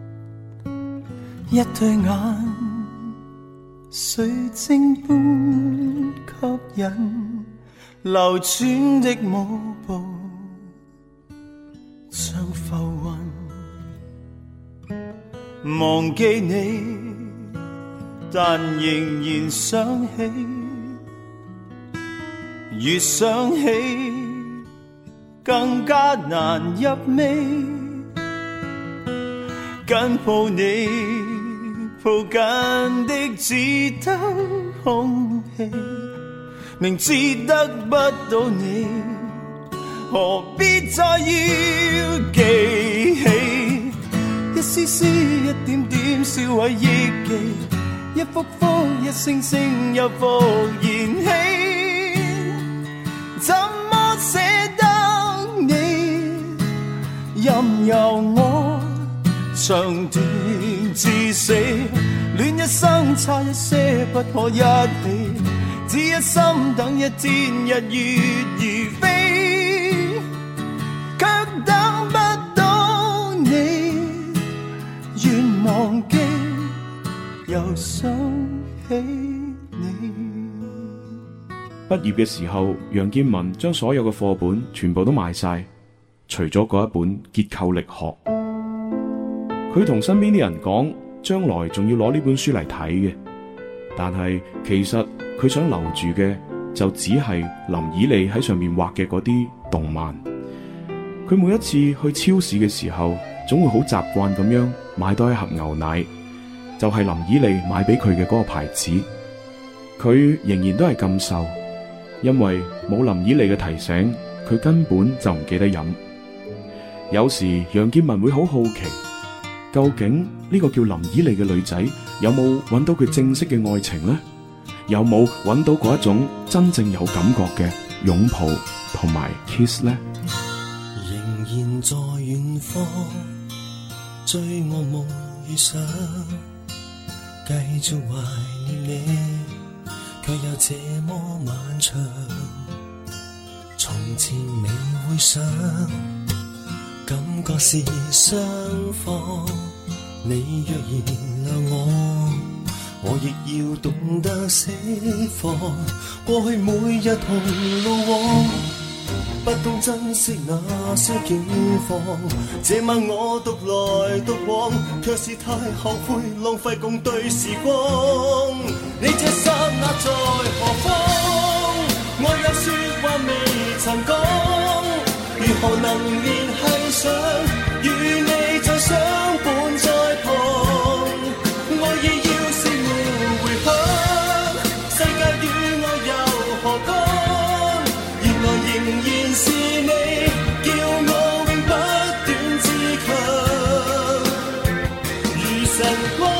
一對眼水晶般吸引，流轉的舞步像浮雲，忘記你但仍然想起，越想起更加難入味，緊抱你抱緊的只得空氣，明知得不到你，何必再要記起，一絲絲一點點燒毀憶記，一幅幅一聲聲又復燃起，怎麼捨得你，任由我長斷至死，戀一生差一些不可一起，只一心等一天日月而飛，卻等不到你，願忘記又想起你。 畢業嘅時候，楊建文將所有嘅課本全部都賣晒，除咗嗰一本結構力學。佢同身邊啲人講，將來仲要攞呢本書嚟睇嘅，但係其實佢想留住嘅就只係林以利喺上面畫嘅嗰啲動漫。佢每一次去超市嘅時候，總會好習慣咁樣買多一盒牛奶，就係林以利買俾佢嘅嗰個牌子。佢仍然都係咁瘦，因為冇林以利嘅提醒，佢根本就唔記得飲。有時楊建文會好好奇，究竟呢個叫林以利嘅女仔有冇揾到佢正式嘅愛情呢？有冇揾到嗰一種真正有感覺嘅擁抱同埋 kiss 呢？ 仍然在遠方追我夢與想，繼續懷念你，卻又這麼漫長。從前未會想，感覺是雙方。你若原諒我，我亦要懂得釋放。過去每日同路往，不懂珍惜那些境況。這晚我獨來獨往，卻是太後悔浪費共對時光。你這剎那在何方？我有說話未曾講，如何能聯繫上？與你再相伴在旁，愛意要是沒回響，世界與我又何干？原來仍然是你，叫我永不斷自強，如晨光。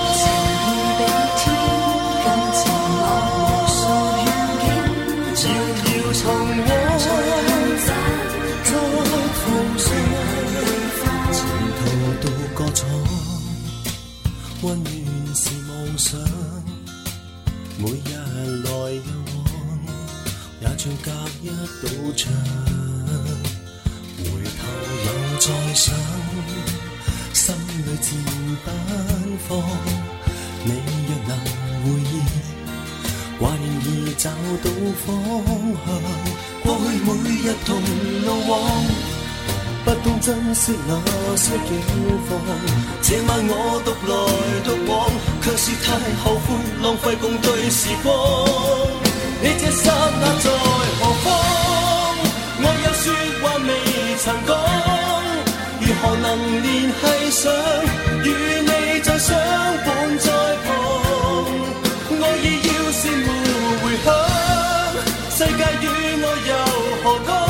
溫暖是夢想，每日來又往，也像隔一道牆。回頭又再想，心裏自奔放。你若能回憶，還願意找到方向。過去每日同路往，不懂珍惜那些境況，這晚我獨來獨往，卻是太後悔浪費共對時光。你這剎那在何方？我有說話未曾講，如何能聯繫上？與你再相伴在旁，愛意要是沒回響，世界與我又何干？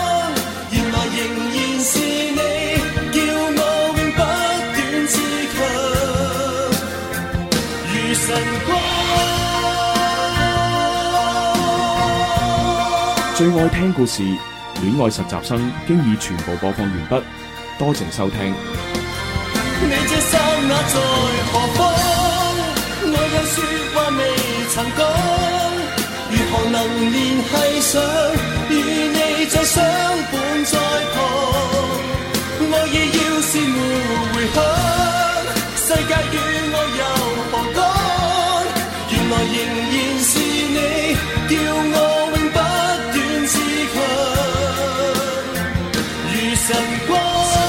是你叫我永不斷自強，如晨光。 最愛聽故事，戀愛實習生經已全部播放完畢，多謝收聽。 你這剎那在何方？我有說話未曾講，如何能聯繫上？與你再相晨光。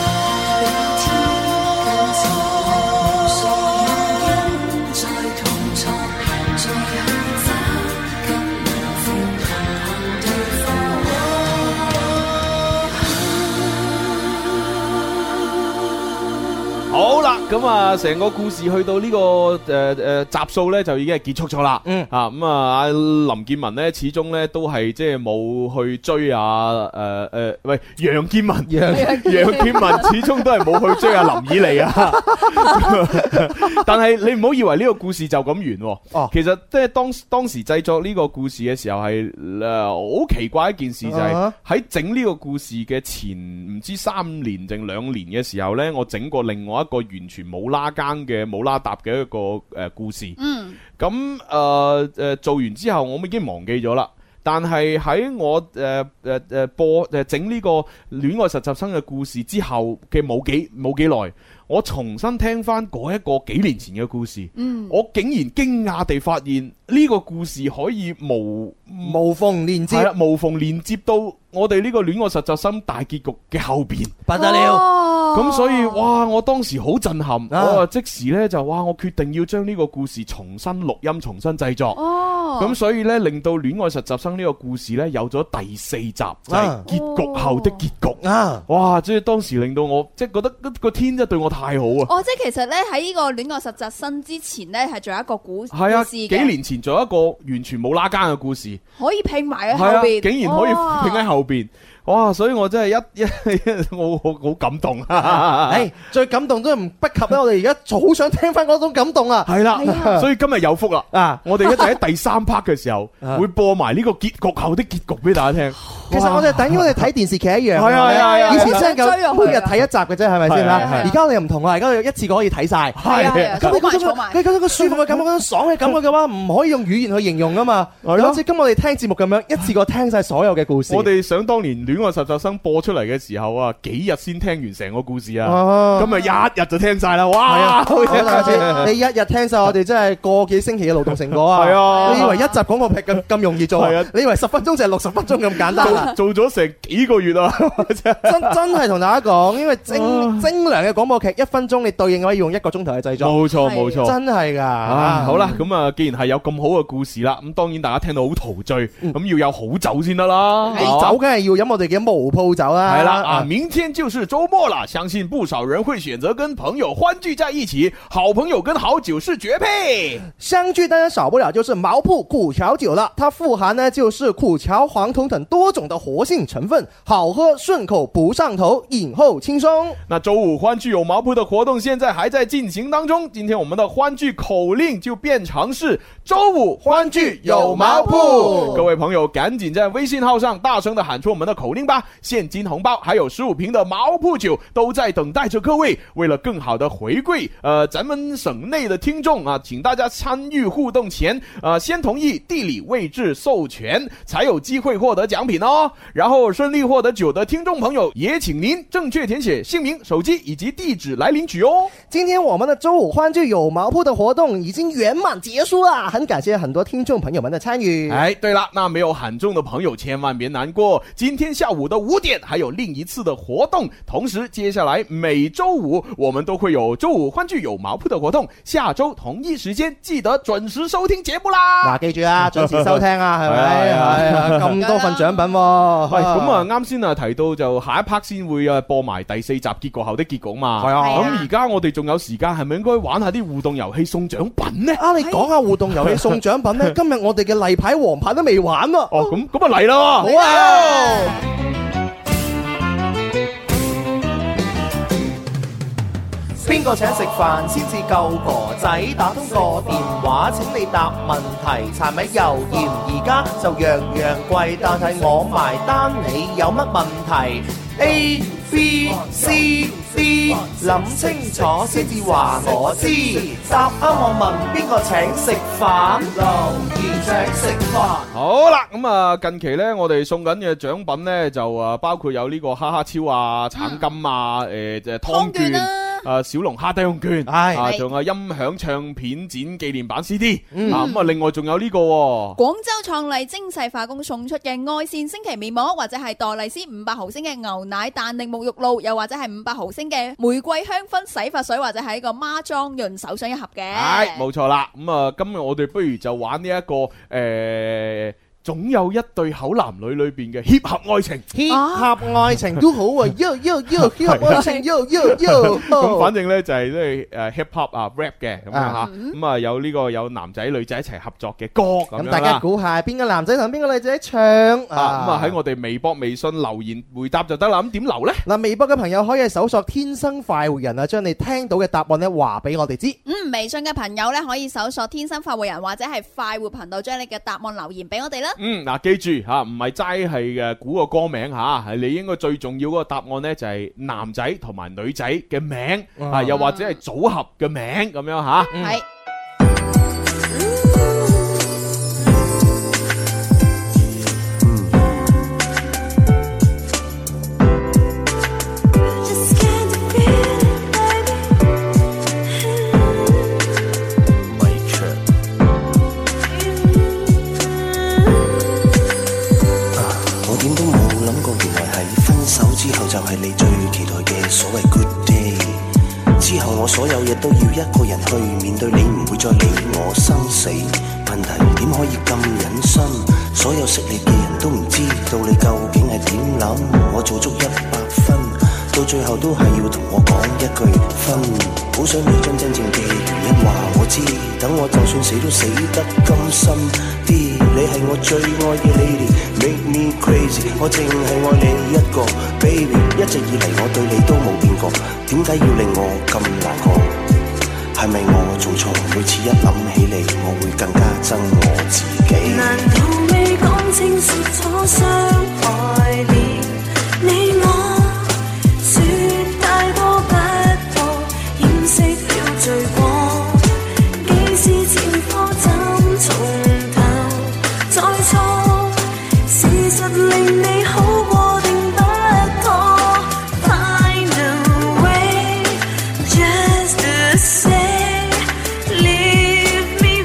好啦，咁啊，成個故事去到呢、這個誒誒、呃、集數咧，就已經係結束咗啦。嗯，啊咁啊，阿林建文咧，始終咧都係即係冇去追啊誒誒、呃，喂，楊建文，楊楊建文始終都係冇去追阿林以利啊。但係你唔好以為呢個故事就咁完。哦，其實即係當當時製作呢個故事嘅時候係誒好奇怪一件事，就係喺整呢個故事嘅前唔知三年定兩年嘅時候咧，我整過另外一個完全冇拉更嘅冇拉搭嘅一個誒故事，嗯，咁誒誒做完之後，我已經忘記咗啦。但係喺我誒誒誒播誒整呢個戀愛實習生嘅故事之後嘅冇幾冇幾耐，我重新聽翻嗰一個幾年前嘅故事，嗯，我竟然驚訝地發現呢個故事可以無無縫連接， 係啦，無縫連接到我哋呢個戀愛實習生大結局嘅後邊， 不得了。 咁所以哇，我當時好震撼，啊、我即時呢就哇，我決定要將呢個故事重新錄音、重新製作。哦，咁所以呢，令到戀愛實習生呢個故事呢有咗第四集，就係、是、結局後的結局。啊，哇！即係當時令到我即係覺得個天真係對我太好啊！ 哦，即係其實呢，喺呢個戀愛實習生之前呢，係仲有一個故事。 係啊，幾年前仲有一個完全冇拉更嘅故事， 可以拼埋喺後邊、啊， 竟然可以拼喺後邊。哇！所以我真係一一我好好感動啊！ 誒，最感動都唔不及咧，我哋而家好想聽翻嗰種感動啊！ 係啦，所以今日有福啦！啊，我哋一陣喺第三 part 嘅時候會播埋呢個結局後的結局俾大家聽。 其實我哋等於我哋睇電視劇一樣， 係啊係啊， 以前真係咁每日睇一集嘅啫，係咪先啦？而家我哋又唔同啦，而家一次過可以睇晒。係啊，咁你嗰種你嗰種個舒服嘅感覺、嗰種爽嘅感覺嘅話，唔可以用語言去形容噶嘛。好似今我哋聽節目咁樣，一次過聽晒所有嘅故事。 我哋想當年戀愛實習生播出嚟嘅時候啊，幾日先聽完成個故事啊？咁啊一日就聽晒啦！哇， 你一日聽晒，我哋真係個幾星期嘅勞動成果啊！係啊，你以為一集廣播劇咁咁容易做啊？你以為十分鐘就係六十分鐘咁簡單啊？ 做咗成幾個月啊！ 真真係同大家講，因為精精良嘅廣播劇一分鐘，你對應可以用一個鐘頭去製作。 冇錯冇錯， 真係噶。 好啦，咁啊，既然係有咁好嘅故事啦，咁當然大家聽到好陶醉，咁要有好酒先得啦。 酒梗係要飲我哋嘅毛鋪酒啦。 係啦，啊，明天就是周末啦，相信不少人會選擇跟朋友歡聚在一起，好朋友跟好酒是絕配。 相聚當然少不了就是毛鋪苦蕎酒啦，它富含呢就是苦蕎、黃酮等多種的活性成分，好喝順口不上頭，飲後輕鬆。 那周五歡聚有毛鋪的活動現在還在進行當中，今天我們的歡聚口令就變成是周五歡聚有毛鋪。各位朋友趕緊在微信號上大聲的喊出我們的口令吧，現金紅包還有十五瓶的毛鋪酒都在等待着各位。為了更好的回饋呃咱們省內的聽眾啊，請大家參與互動前呃先同意地理位置授權，才有機會獲得獎品哦。然後順利獲得酒的聽眾朋友，也請您正確填寫姓名、手機以及地址來領取哦。 今天我們的周五歡聚有毛鋪的活動已經圓滿結束了，很感謝很多聽眾朋友們的參與。 哎，對了，那沒有喊中的朋友千萬別難過，今天下午的五點還有另一次的活動，同時接下來每周五我們都會有周五歡聚有毛鋪的活動，下周同一時間記得準時收聽節目啦。 嗱，記住啊，準時收聽啊，係咪？係啊，咁多份獎品喎。 喂，咁啊，啱先啊提到就下一 part 先會啊播埋第四集結局後的結局嘛。係啊，咁而家我哋仲有時間，係咪應該玩下啲互動遊戲送獎品呢？ 啊，你講下互動遊戲送獎品呢？今日我哋嘅例牌黃牌都未玩喎。 哦，咁咁啊嚟啦！好啊！邊個請食飯先至夠哥仔？打通個電話請你答問題。柴米油鹽而家就樣樣貴，但係我埋單，你有乜問題 ？A B C D 諗清楚先至話我知。答啱我問邊個請食飯？留言請食飯。 好啦，咁啊近期咧，我哋送緊嘅獎品咧就啊包括有呢個哈哈超啊、橙金啊、誒誒湯券。 誒小龍蝦低胸券，啊仲有音響唱片展紀念版 C D，啊咁啊另外仲有呢個廣州創麗精細化工送出嘅愛線星期面膜，或者係黛麗絲五百毫升嘅牛奶彈力沐浴露，又或者係五百毫升嘅玫瑰香薰洗髮水，或者係一個孖裝潤手霜一盒嘅。 係冇錯啦，咁啊今日我哋不如就玩呢一個誒。總有一對口男女裏邊嘅協合愛情， 協合愛情都好啊，yo yo yo 協合愛情 yo yo yo。 咁反正咧就係即係誒 hip hop 啊 rap 嘅咁樣吓，咁啊有呢個有男仔女仔一齊合作嘅歌咁樣啦。咁大家估下邊個男仔同邊個女仔唱啊？咁啊喺我哋微博、微信留言回答就得啦。咁點留咧？ 嗱，微博嘅朋友可以搜索天生快活人啊，將你聽到嘅答案咧話俾我哋知。 嗯，微信嘅朋友咧可以搜索天生快活人或者係快活頻道，將你嘅答案留言俾我哋啦。 嗯，嗱，記住吓，唔係齋係嘅估個歌名吓，係你應該最重要嗰個答案咧就係男仔同埋女仔嘅名啊，又或者係組合嘅名咁樣吓。係。 就係你最期待嘅所謂 good day， 之後我所有嘢都要一個人去面對，你唔會再理我生死問題，點可以咁忍心？所有識你嘅人都唔知道你究竟係點諗，我做足一百分，到最後都係要同我講一句分，好想你將真正嘅原因話我知，等我就算死都死得甘心啲，你係我最愛嘅 lady，make me crazy， 我淨係愛你一個 baby， 一直以嚟我對你都冇變過，點解要令我咁難過？係咪我做錯？每次一諗起你，我會更加憎我自己。 難道未講清楚錯傷害了你我？說太多不過，掩飾了罪過，既是前科怎從頭再錯？事實令你好過定不妥 ？Find a way just to say leave me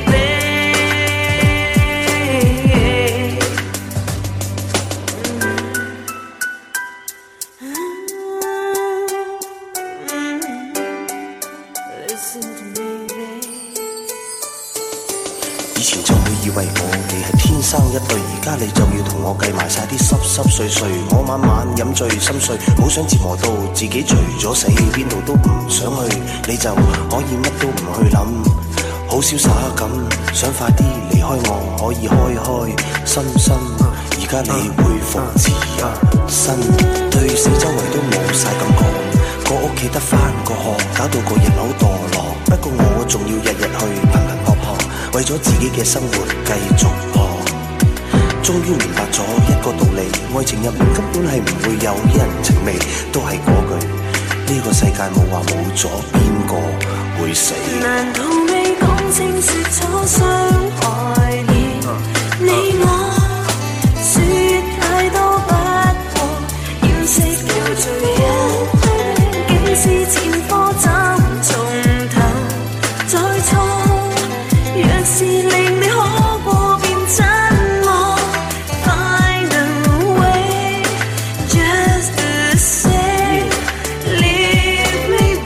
babe。Listen to me babe。 以前就會以為我哋係天生一對，而家你就要同我計埋晒啲濕濕碎碎，我晚晚飲醉心碎，好想折磨到自己除咗死，邊度都唔想去，你就可以乜都唔去諗，好瀟灑咁，想快啲離開我，可以開開心心，而家你恢復自由身，對四周圍都冇晒感覺，個屋企得返個殼，搞到個人好墮落，不過我仲要日日去頻頻撲撲，為咗自己嘅生活繼續搏，終於明白咗一個道理，愛情入面根本係唔會有人情味，都係嗰句，呢個世界冇話冇咗邊個會死。 難道未講清說錯傷害了你我？說太多不過，掩飾了罪過，竟是前科怎從頭再錯？若是令你可過便親我 ，Find a way just to say leave me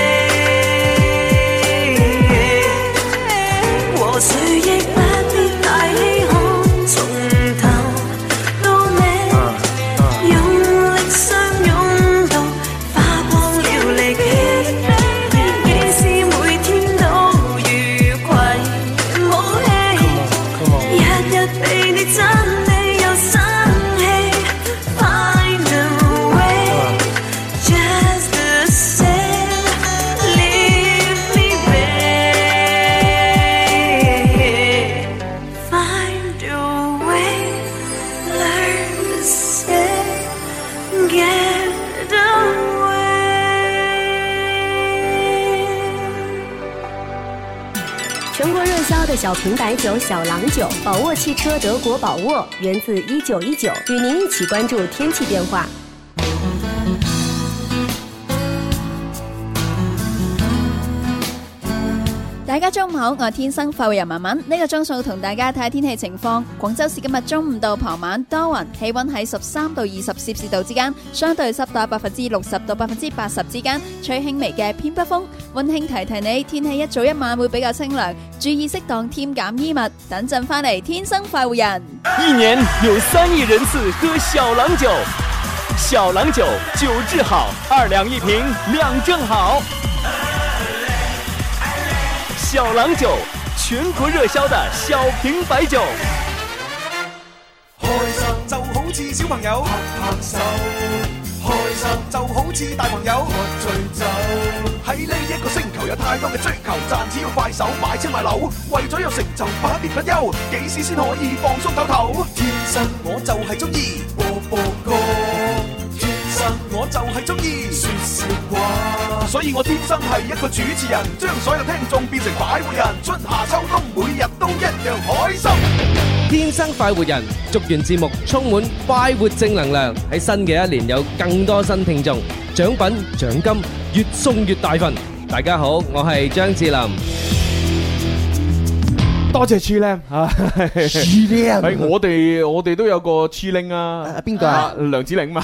babe。和誰亦不必太稀罕，從頭到尾用力相擁到花光了力氣，幾時每天都愉快武器，日日被你憎你又生氣 ，Find a way just to say leave me babe。Find a way learn to say get away。 全国热销的小瓶白酒小郎酒，宝沃汽车德国宝沃，源自一九一九，与您一起关注天气变化。 大家中午好，我係天生快活人文文，呢個鐘數同大家睇下天氣情況。廣州市今日中午到傍晚多雲，氣溫喺十三到二十攝氏度之間，相對濕度百分之六十到百分之八十之間，吹輕微嘅偏北風。溫馨提提你，天氣一早一晚會比較清涼，注意適當添減衣物。等陣翻嚟，天生快活人。 一年有三億人次喝小郎酒，小郎酒酒質好，二兩一瓶，量正好。小郎酒，全國熱銷的小瓶白酒。 開心就好似小朋友拍拍手，開心就好似大朋友喝醉酒。喺呢一個星球有太多嘅追求，賺錢要快手買車買樓，為咗有成就百年不休，幾時先可以放鬆唞唞？天生我就係中意播播歌，天生我就係中意說笑話，所以我天生係一個主持人，將所有聽眾變成快活人，春夏秋冬每日都一樣開心。 天生快活人，祝願節目充滿快活正能量，喺新嘅一年有更多新聽眾，獎品獎金越送越大份。大家好，我係張智霖。 多謝黐靚嚇，黐靚係我哋我哋都有個黐靚啊， 邊個啊？ 梁子玲嘛，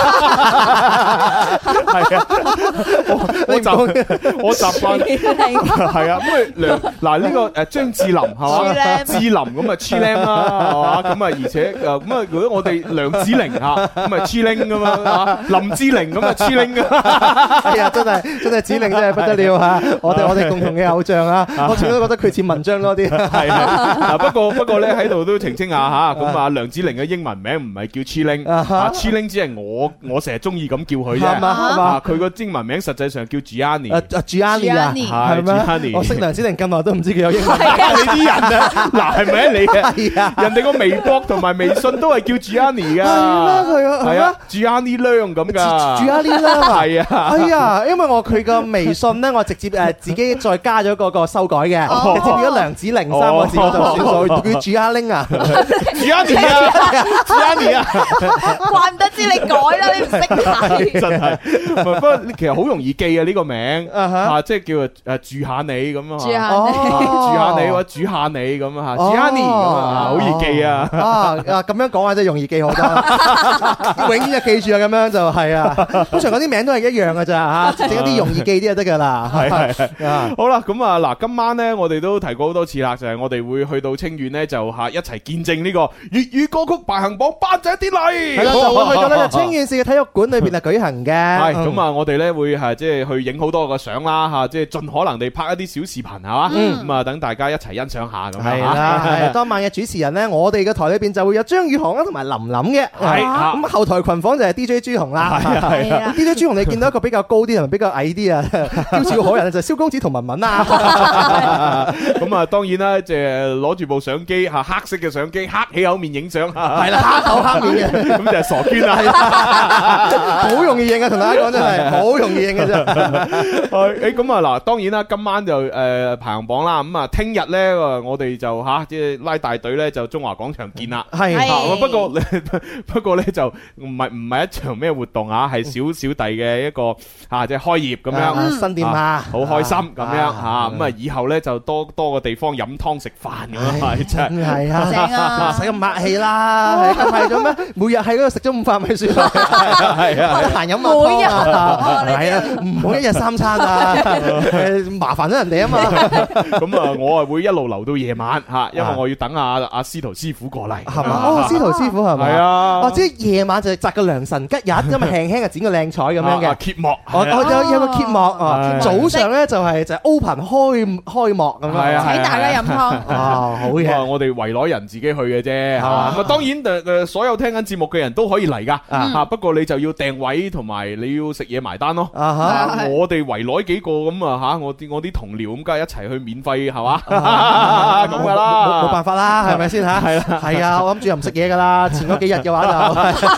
係啊，我習我習慣係啊，咁啊梁嗱呢個誒張智霖係嘛，智霖咁啊黐靚啦係嘛，咁啊而且誒咁啊如果我哋梁子玲嚇咁啊黐靚噶嘛，林志玲咁啊黐靚噶， 係啊真係真係子玲真係不得了嚇，我哋我哋共同嘅偶像啊，我始終都覺得佢似文章多啲。 係啊，不過不過咧喺度都澄清下吓，咁啊梁子玲嘅英文名唔係叫 Chiling， 啊 Chiling 只係我我成日中意咁叫佢啫，係嘛？佢個英文名實際上叫 Gianni， 啊 Gianni 啊，係咩？我識梁子玲咁耐都唔知佢有英文名， 你啲人啊，嗱係咪你啊？人哋個微博同埋微信都係叫 Gianni 噶，係啊 Gianni Leung 咁噶 ，Gianni Leung 係啊， 係啊，因為我佢個微信咧，我直接誒自己再加咗嗰個修改嘅，直接變咗梁子玲三個字我就算數，叫朱亞玲啊， 朱亞妮啊，朱亞妮啊， 怪唔得知你改啦，你唔識睇， 真係。不過其實好容易記啊呢個名啊，即係叫誒住下你咁啊， 住下你， 住下你或者煮下你咁啊，朱亞妮咁啊，好易記啊。 啊啊咁樣講啊，真係容易記好多，永遠就記住啊，咁樣就係啊。通常嗰啲名都係一樣㗎咋嚇，整一啲容易記啲就得㗎啦。 係係。好啦，咁啊嗱，今晚咧我哋都提過好多次啦，就係我哋會去到清遠咧，就嚇一齊見證呢個粵語歌曲排行榜頒獎典禮。 係啦，就會去到呢個清遠市嘅體育館裏邊啊舉行嘅。 係咁啊，我哋咧會係即係去影好多個相啦嚇，即係盡可能地拍一啲小視頻係嘛，咁啊等大家一齊欣賞下咁樣。 係啦，係當晚嘅主持人咧，我哋嘅台裏邊就會有張宇航啦同埋林琳嘅。係咁後台群訪就係 D J 朱紅啦。係啊 ，D J 朱紅你見到一個比較高啲同埋比較矮啲啊，嬌俏可人就係蕭公子同文文啊。 咁啊，當然啦，即係攞住部相機嚇，黑色嘅相機，黑起口面影相。 係啦，黑口黑面嘅， 咁就係傻娟啦。 好容易認啊，同大家講真係好容易認嘅啫。 誒咁啊嗱，當然啦，今晚就誒排行榜啦。咁啊，聽日咧，我哋就嚇即係拉大隊咧，就中華廣場見啦。係。不過不過咧就唔係唔係一場咩活動啊，係小小弟嘅一個嚇即係開業咁樣。 新店啊， 好開心咁樣嚇。咁啊，以後咧就多多個地方飲湯食飯咁啊，真係啊，正啊，使咁客氣啦，咁係咗咩？每日喺嗰度食咗午飯咪算啦，係啊，得閒飲下湯啊，係啊，唔好一日三餐啊，麻煩咗人哋啊嘛。 咁啊，我啊會一路留到夜晚嚇，因為我要等阿阿司徒師傅過嚟， 係嘛？哦，司徒師傅係咪？ 係啊， 哦，即係夜晚就摘個良辰吉日，咁啊輕輕啊剪個靚彩咁樣嘅揭幕， 我我有有個揭幕啊，早上咧就係就係 open 開開幕咁樣， 請大家飲湯。 啊，好嘢！ 我哋圍內人自己去嘅啫，係嘛？咁啊，當然誒誒，所有聽緊節目嘅人都可以嚟噶，嚇。不過你就要訂位同埋你要食嘢埋單咯。我哋圍內幾個咁啊嚇，我啲我啲同僚咁，梗係一齊去免費係嘛？咁噶啦， 冇辦法啦，係咪先嚇？係啦，係啊，我諗住又唔食嘢噶啦。前嗰幾日嘅話就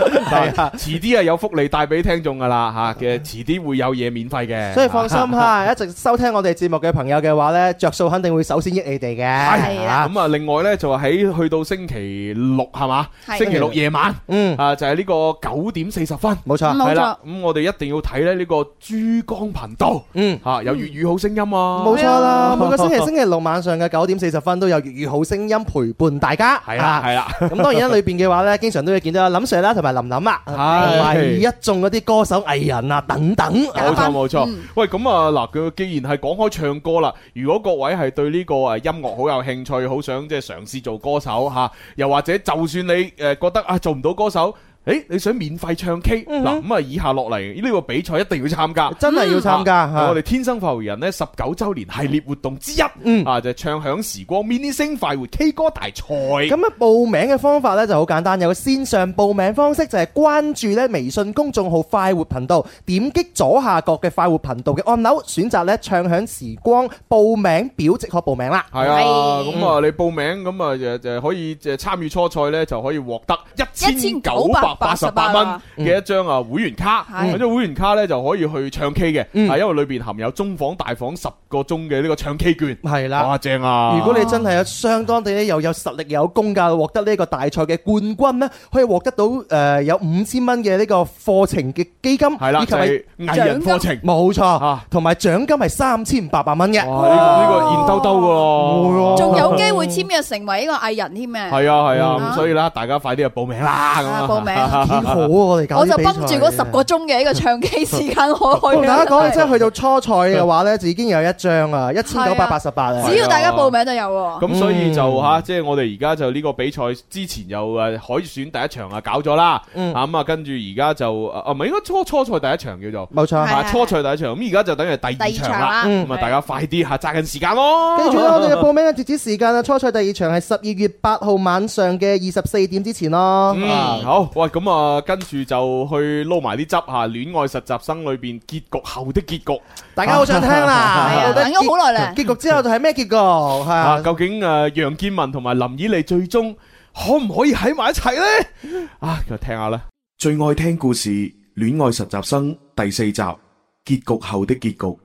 係啊，遲啲啊有福利帶俾聽眾噶啦吓嘅，遲啲會有嘢免費嘅。 所以放心吓，一直收聽我哋節目嘅朋友嘅話咧，着數肯定會首先益你哋嘅。 係啦，咁啊，另外咧就喺去到星期六係嘛，星期六夜晚，嗯啊就係呢個九點四十分， 冇錯， 係啦。咁我哋一定要睇咧呢個珠江頻道，嗯吓有粵語好聲音啊， 冇錯啦。每個星期星期六晚上嘅九點四十分都有粵語好聲音陪伴大家。 係啦，係啦。 咁當然喺裏邊嘅話咧，經常都會見到林 Sir 啦，同埋琳琳啊，同埋一眾嗰啲歌手藝人啊等等。 冇錯冇錯。喂，咁啊嗱，佢既然係講開唱歌啦，如果各位係對呢個誒音樂好有興趣，好想即係嘗試做歌手吓，又或者就算你誒覺得啊做唔到歌手。誒，你想免費唱 K 嗱咁啊？以下落嚟呢個比賽一定要參加， 真係要參加。 我哋天生快活人呢十九周年系列活動之一，啊就係唱響時光 mini 星快活 K 歌大賽。 咁啊，報名嘅方法呢就好簡單，有個線上報名方式就係關注咧微信公眾號快活頻道，點擊左下角嘅快活頻道嘅按鈕，選擇咧唱響時光報名表即可報名啦。 係啊，咁啊你報名咁啊就就可以就參與初賽呢，就可以獲得一千九百八十八蚊嘅一張啊會員卡，咁張會員卡咧就可以去唱 K 嘅，係因為裏邊含有中房大房十個鐘嘅呢個唱 K 券， 係啦， 哇正啊！ 如果你真係有相當地咧又有實力又有功架，獲得呢個大賽嘅冠軍咧，可以獲得到誒有五千蚊嘅呢個課程嘅基金， 係啦，就係藝人課程， 冇錯，同埋獎金係三千八百蚊嘅， 哇！呢個呢個現兜兜噶， 仲有機會簽約成為呢個藝人添嘅， 係啊係啊，咁所以啦，大家快啲去報名啦，咁啊報名。 好啊！我哋搞我就繃住嗰十個鐘嘅呢個唱 K 時間，我去。 同大家講，即係去到初賽嘅話咧，就已經有一張啊，一千九百八十八啊！ 只要大家報名就有。 咁所以就吓，即係我哋而家就呢個比賽之前又誒海選第一場啊搞咗啦，咁啊跟住而家就啊唔係應該初初賽第一場叫做冇錯， 係初賽第一場，咁而家就等於第二場啦，咁啊大家快啲吓揸緊時間咯。 記住啦，我哋嘅報名嘅截止時間啊，初賽第二場係十二月八號晚上嘅二十四點之前咯。 嗯，好，喂，咁啊跟住就去撈埋啲汁吓，戀愛實習生裏邊結局後的結局， 大家好想聽啦， 等咗好耐啦。 結局之後就係咩結局？係啊， 究竟誒楊建文同埋林以利最終可唔可以喺埋一齊呢？啊，就聽下啦。 最愛聽故事《戀愛實習生》第四集結局後的結局。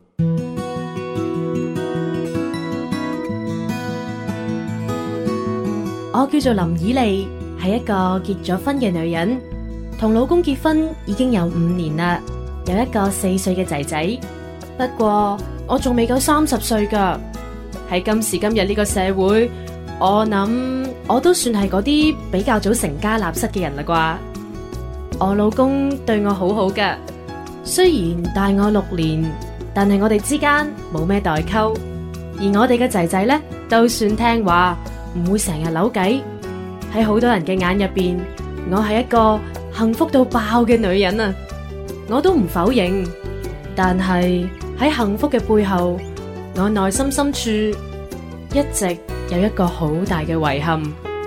我叫做林以利，係一個結咗婚嘅女人，同老公結婚已經有五年啦，有一個四歲嘅仔仔。不過我仲未夠三十歲噶，喺今時今日呢個社會，我諗我都算係嗰啲比較早成家立室嘅人啦啩。我老公對我好好噶，雖然大我六年，但係我哋之間冇咩代溝，而我哋嘅仔仔呢，都算聽話，唔會成日扭計。喺好多人嘅眼入邊，我係一個幸福到爆嘅女人啊！我都唔否認，但係喺幸福嘅背後，我內心深處一直有一個好大嘅遺憾。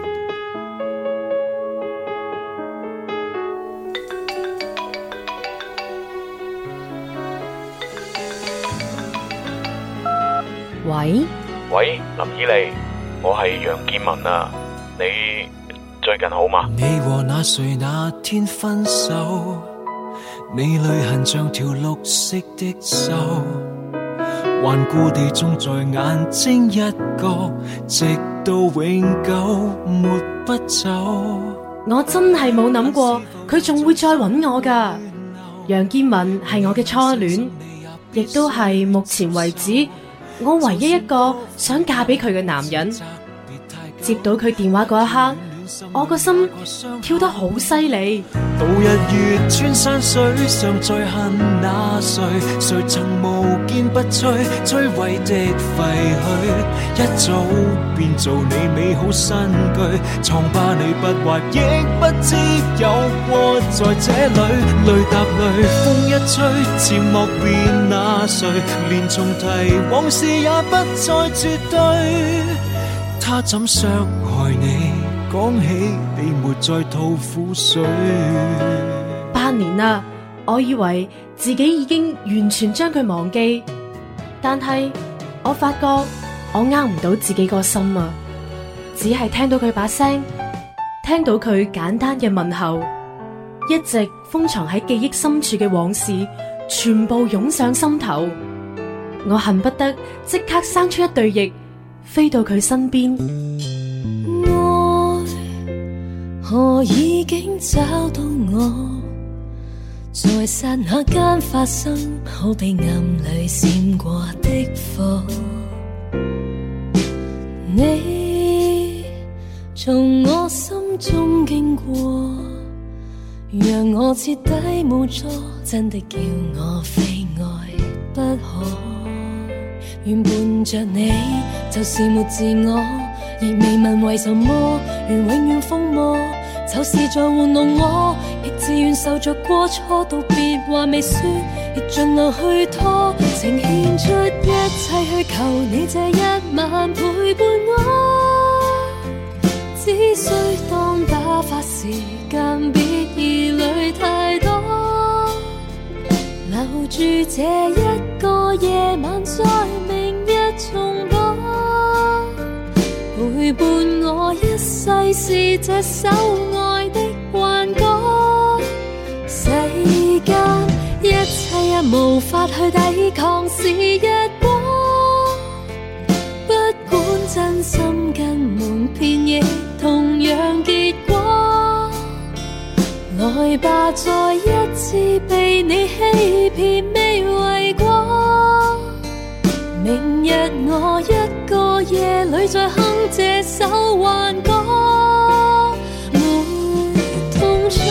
喂喂，林以利，我係楊建文啊，你最近好嗎？ 你和那誰那天分手，你淚痕像條綠色的銹，頑固地種在眼睛一角，直到永久抹不走。 我真係冇諗過佢仲會再揾我㗎。楊建文係我嘅初戀，亦都係目前為止我唯一一個想嫁俾佢嘅男人。接到佢電話嗰一刻，我個心跳得好犀利。 到日月穿山水，尚在恨那誰？誰曾無堅不摧，摧毀的廢墟，一早變做你美好新居。瘡疤你不畫，亦不知有過在這裏。淚答淚，風一吹，漸莫辨那誰？連重提往事也不再絕對。他怎傷害你？講起你沒再吐苦水。 八年啦，我以為自己已經完全將佢忘記，但係我發覺我呃唔到自己個心啊！只係聽到佢把聲，聽到佢簡單嘅問候， 一直封藏喺記憶深處嘅往事，全部湧上心頭。我恨不得即刻生出一對翼，飛到佢身邊。 愛何已經找到我，在剎那間發生，好比暗裏閃過的火。你從我心中經過，讓我徹底無助，真的叫我非愛不可。願伴着你就是沒自我，亦未問為什麼，願永遠瘋魔，就是在玩弄我，亦自願受着過錯，道別話未說，亦盡量去拖，呈獻出一切去求你這一晚陪伴我，只需當打發時間，別疑慮太多，留住這一個夜晚，在明日重播，陪伴我一世是這首愛的幻歌，世間一切也無法去抵抗是日光，不管真心跟蒙騙亦同樣結果，來吧再一次被你欺騙未為過，明日我一個夜裏再哼這首幻歌，沒痛楚。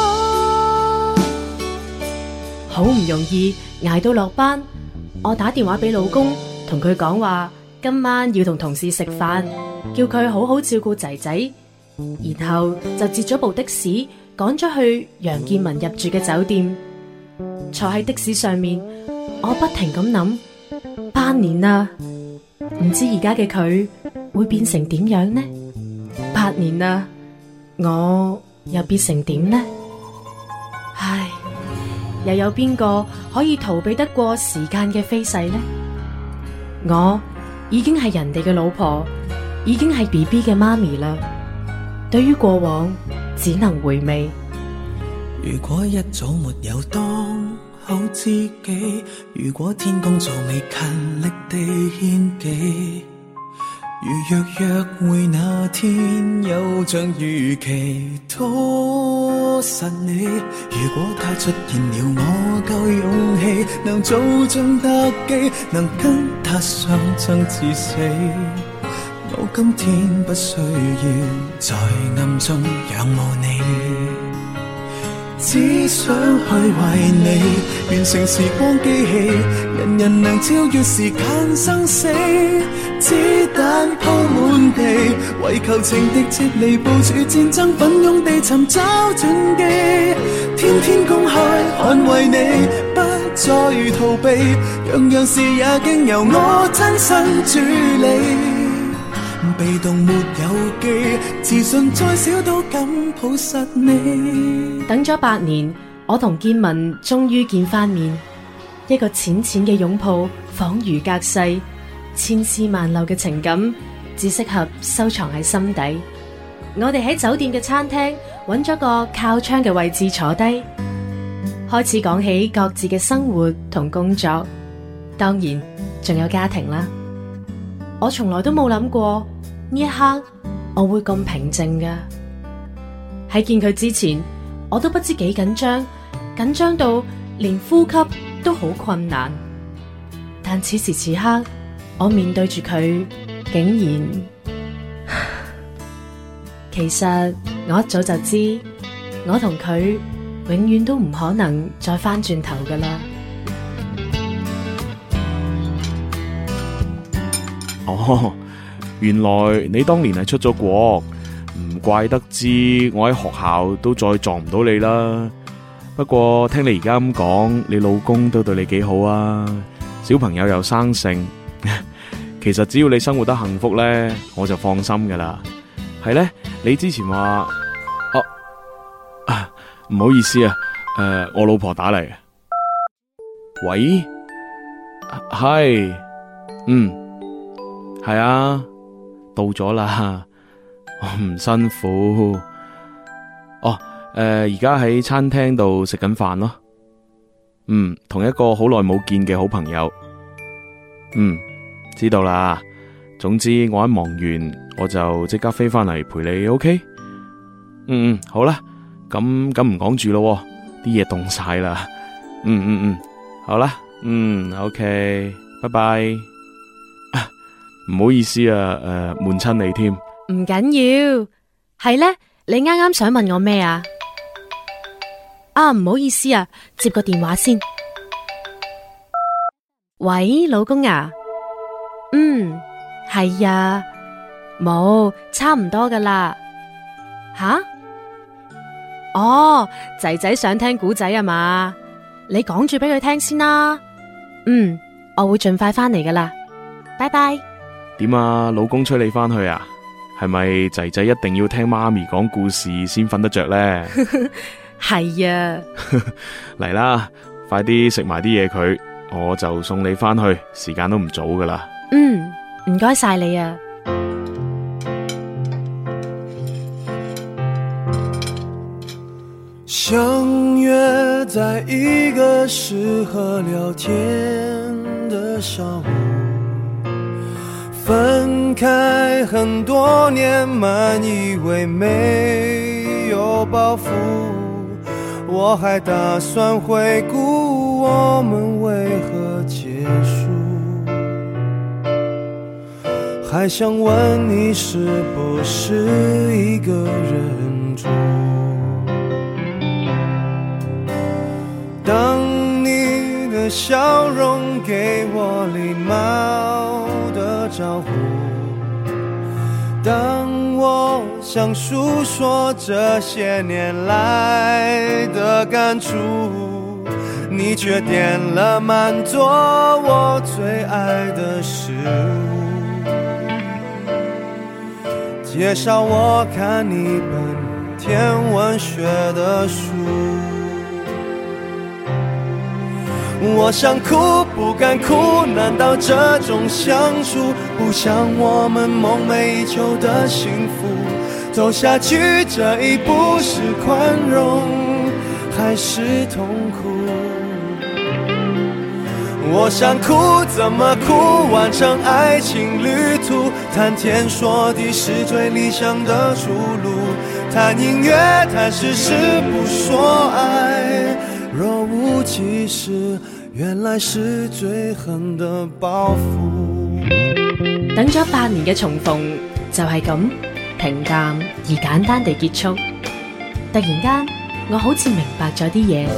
好唔容易捱到落班，我打電話俾老公，同佢講話今晚要同同事食飯，叫佢好好照顧仔仔，然後就截咗部的士趕咗去楊建文入住嘅酒店。坐喺的士上面，我不停咁諗，八年啦，唔知而家嘅佢會變成點樣呢？八年啦，我又變成點呢？唉，又有邊個可以逃避得過時間嘅飛逝呢？我已經係人哋嘅老婆，已經係 B B 嘅媽咪啦。對於過往，只能回味。 如果一早沒有當好知己，如果天公造美勤力地獻技，如若約會那天有像預期拖實你，如果他出現了我夠勇氣，能做盡特技，能跟他相爭至死，我今天不需要在暗中仰慕你，只想去為你完成時光機器，人人能超越時間生死，子彈鋪滿地，為求情敵撤離，部署戰爭奮勇地尋找轉機，天天公開捍衛你，不再逃避，樣樣事也經由我親身處理，被動沒有記，自信再少都敢抱實你。 等咗八年，我同建文終於見翻面，一個淺淺嘅擁抱，恍如隔世，千絲萬縷嘅情感，只適合收藏喺心底。我哋喺酒店嘅餐廳揾咗個靠窗嘅位置坐低，開始講起各自嘅生活同工作，當然仲有家庭啦。我從來都冇諗過呢一刻我會咁平靜㗎。喺見佢之前，我都不知幾緊張，緊張到連呼吸都好困難。但此時此刻，我面對住佢，竟然其實我一早就知，我同佢永遠都唔可能再返轉頭㗎喇。 哦，原來你當年係出咗國，唔怪得知我喺學校都再撞唔到你啦。不過聽你而家咁講，你老公都對你幾好啊，小朋友又生性。其實只要你生活得幸福呢，我就放心噶啦。係呢，你之前話，哦，啊，唔好意思啊，誒、呃，我老婆打嚟。喂，係，嗯，係啊，到咗啦，我唔辛苦。哦， 而家喺餐廳度食緊飯咯。嗯，同一個好耐冇見嘅好朋友。嗯，知道啦。總之我一忙完，我就即刻飛翻嚟陪你 ，OK？ 嗯嗯，好啦，咁咁唔講住咯，啲嘢凍晒啦。嗯嗯嗯，好啦，嗯 ，OK， 拜拜。唔好意思啊，誒，悶親你添。 唔緊要，係呢？你啱啱想問我咩啊？啊，唔好意思啊，接個電話先。喂，老公啊？嗯，係呀，冇，差唔多噶啦。吓？哦，仔仔想聽古仔啊嘛？你講住俾佢聽先啦。嗯，我會盡快翻嚟噶啦。拜拜。 點啊，老公催你翻去啊？係咪仔仔一定要聽媽咪講故事先瞓得着呢？ 係啊。 嚟啦，快啲食埋啲嘢佢，我就送你翻去，時間都唔早噶啦。 嗯，唔該晒你啊。 相約在一個適合聊天的上午，分開很多年，滿以為沒有包袱，我還打算回顧我們為何結束，還想問你是不是一個人住，當你的笑容給我禮貌的招呼，當我想訴說這些年來的感觸，你卻點了滿桌我最愛的食物，介紹我看一本天文學的書，我想哭不敢哭，難道這種相處不像我們夢寐以求的幸福，走下去這一步是寬容還是痛苦，我想哭怎麼哭，完成愛情旅途，談天說地是最理想的出路，談音樂談事實不說愛，若無其事原來是最狠的包袱。 等咗八年嘅重逢就係咁平淡而簡單地結束，突然間我好似明白咗啲嘢。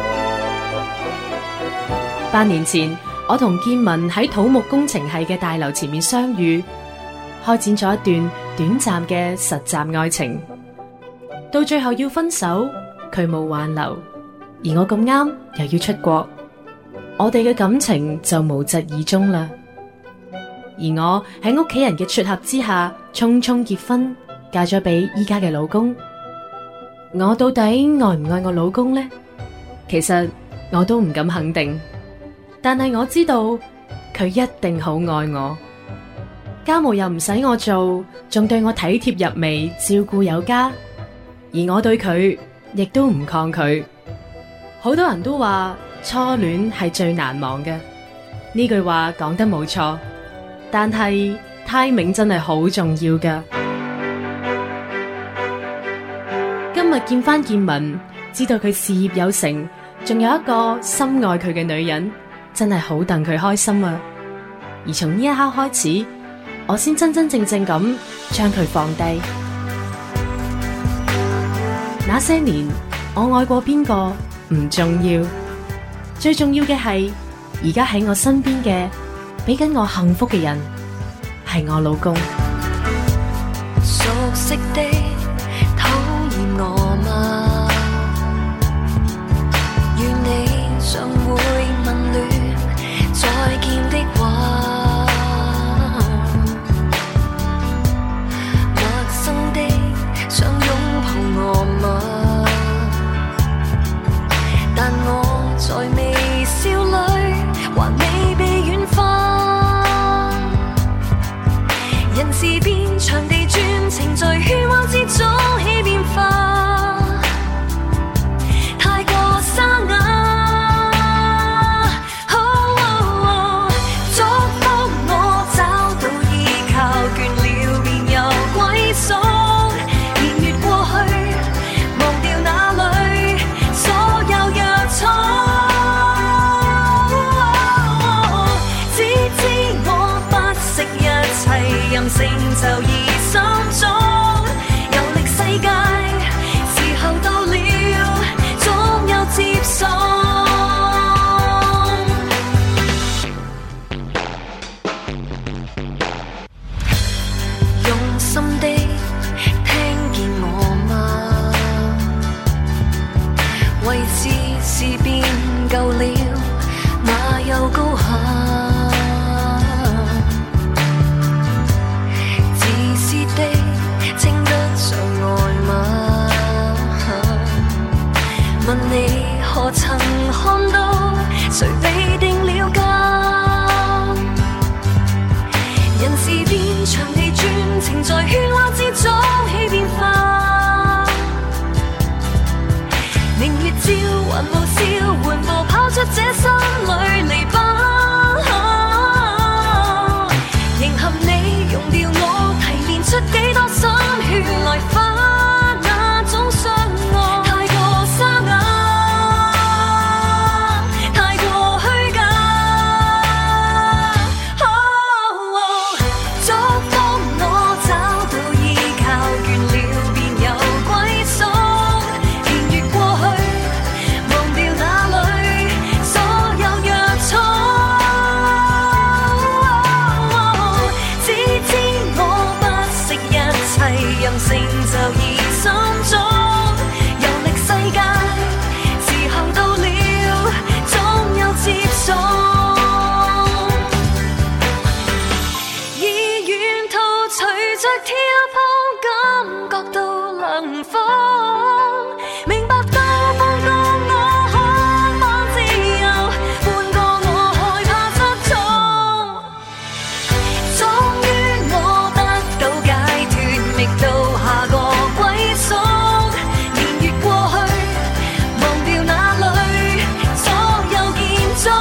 八年前我同建文喺土木工程系嘅大樓前面相遇，開展咗一段短暫嘅實習愛情，到最後要分手，佢冇挽留，而我咁啱又要出國，我哋嘅感情就無疾而終啦。而我喺屋企人嘅撮合之下，匆匆結婚，嫁咗俾依家嘅老公。我到底愛唔愛我老公呢？其實我都唔敢肯定，但係我知道佢一定好愛我，家務又唔使我做，仲對我體貼入微，照顧有加，而我對佢亦都唔抗拒。好多人都話初戀係最難忘嘅，呢句話講得冇錯，但係 timing 真係好重要㗎。今日見翻建文，知道佢事業有成，仲有一個深愛佢嘅女人，真係好戥佢開心啊！而從呢一刻開始，我先真真正正咁將佢放低。那些年我愛過邊個唔重要，最重要嘅係而家喺我身邊嘅，俾緊我幸福嘅人係我老公。 熟悉的討厭我嗎？願你尚會問戀再見的話，陌生的想擁抱我嗎？但我在微笑裏還未被軟化，人事變，場地轉，程序喧嘩之位置是變舊了，那又高下。自私的稱得上愛嗎？問你何曾看到誰被定了價？人事變，場地轉，情在喧嘩之中起變化。明月照，還無笑，緩步拋出這心裏籬笆。迎合你，用掉我，提煉出幾多心血來化那種相愛。太過沙啞，太過虛假。祝福我找到依靠，倦了便有歸宿。年月過去，忘掉那裏所有約束。只知我不惜一切，任成就意心中。遊歷世界，時候到了，總有接送。以沿途隨着跳碰，感覺到涼風，明白到放過我可望自由，換過我害怕失蹤。終於我得到解脫，覓到下個歸宿。年月過去，忘掉那裏所有建築。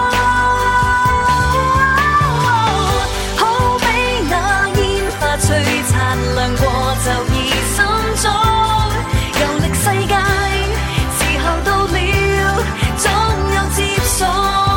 好比那煙花璀璨，亮過就已心中。遊歷世界，時候到了，總有接送。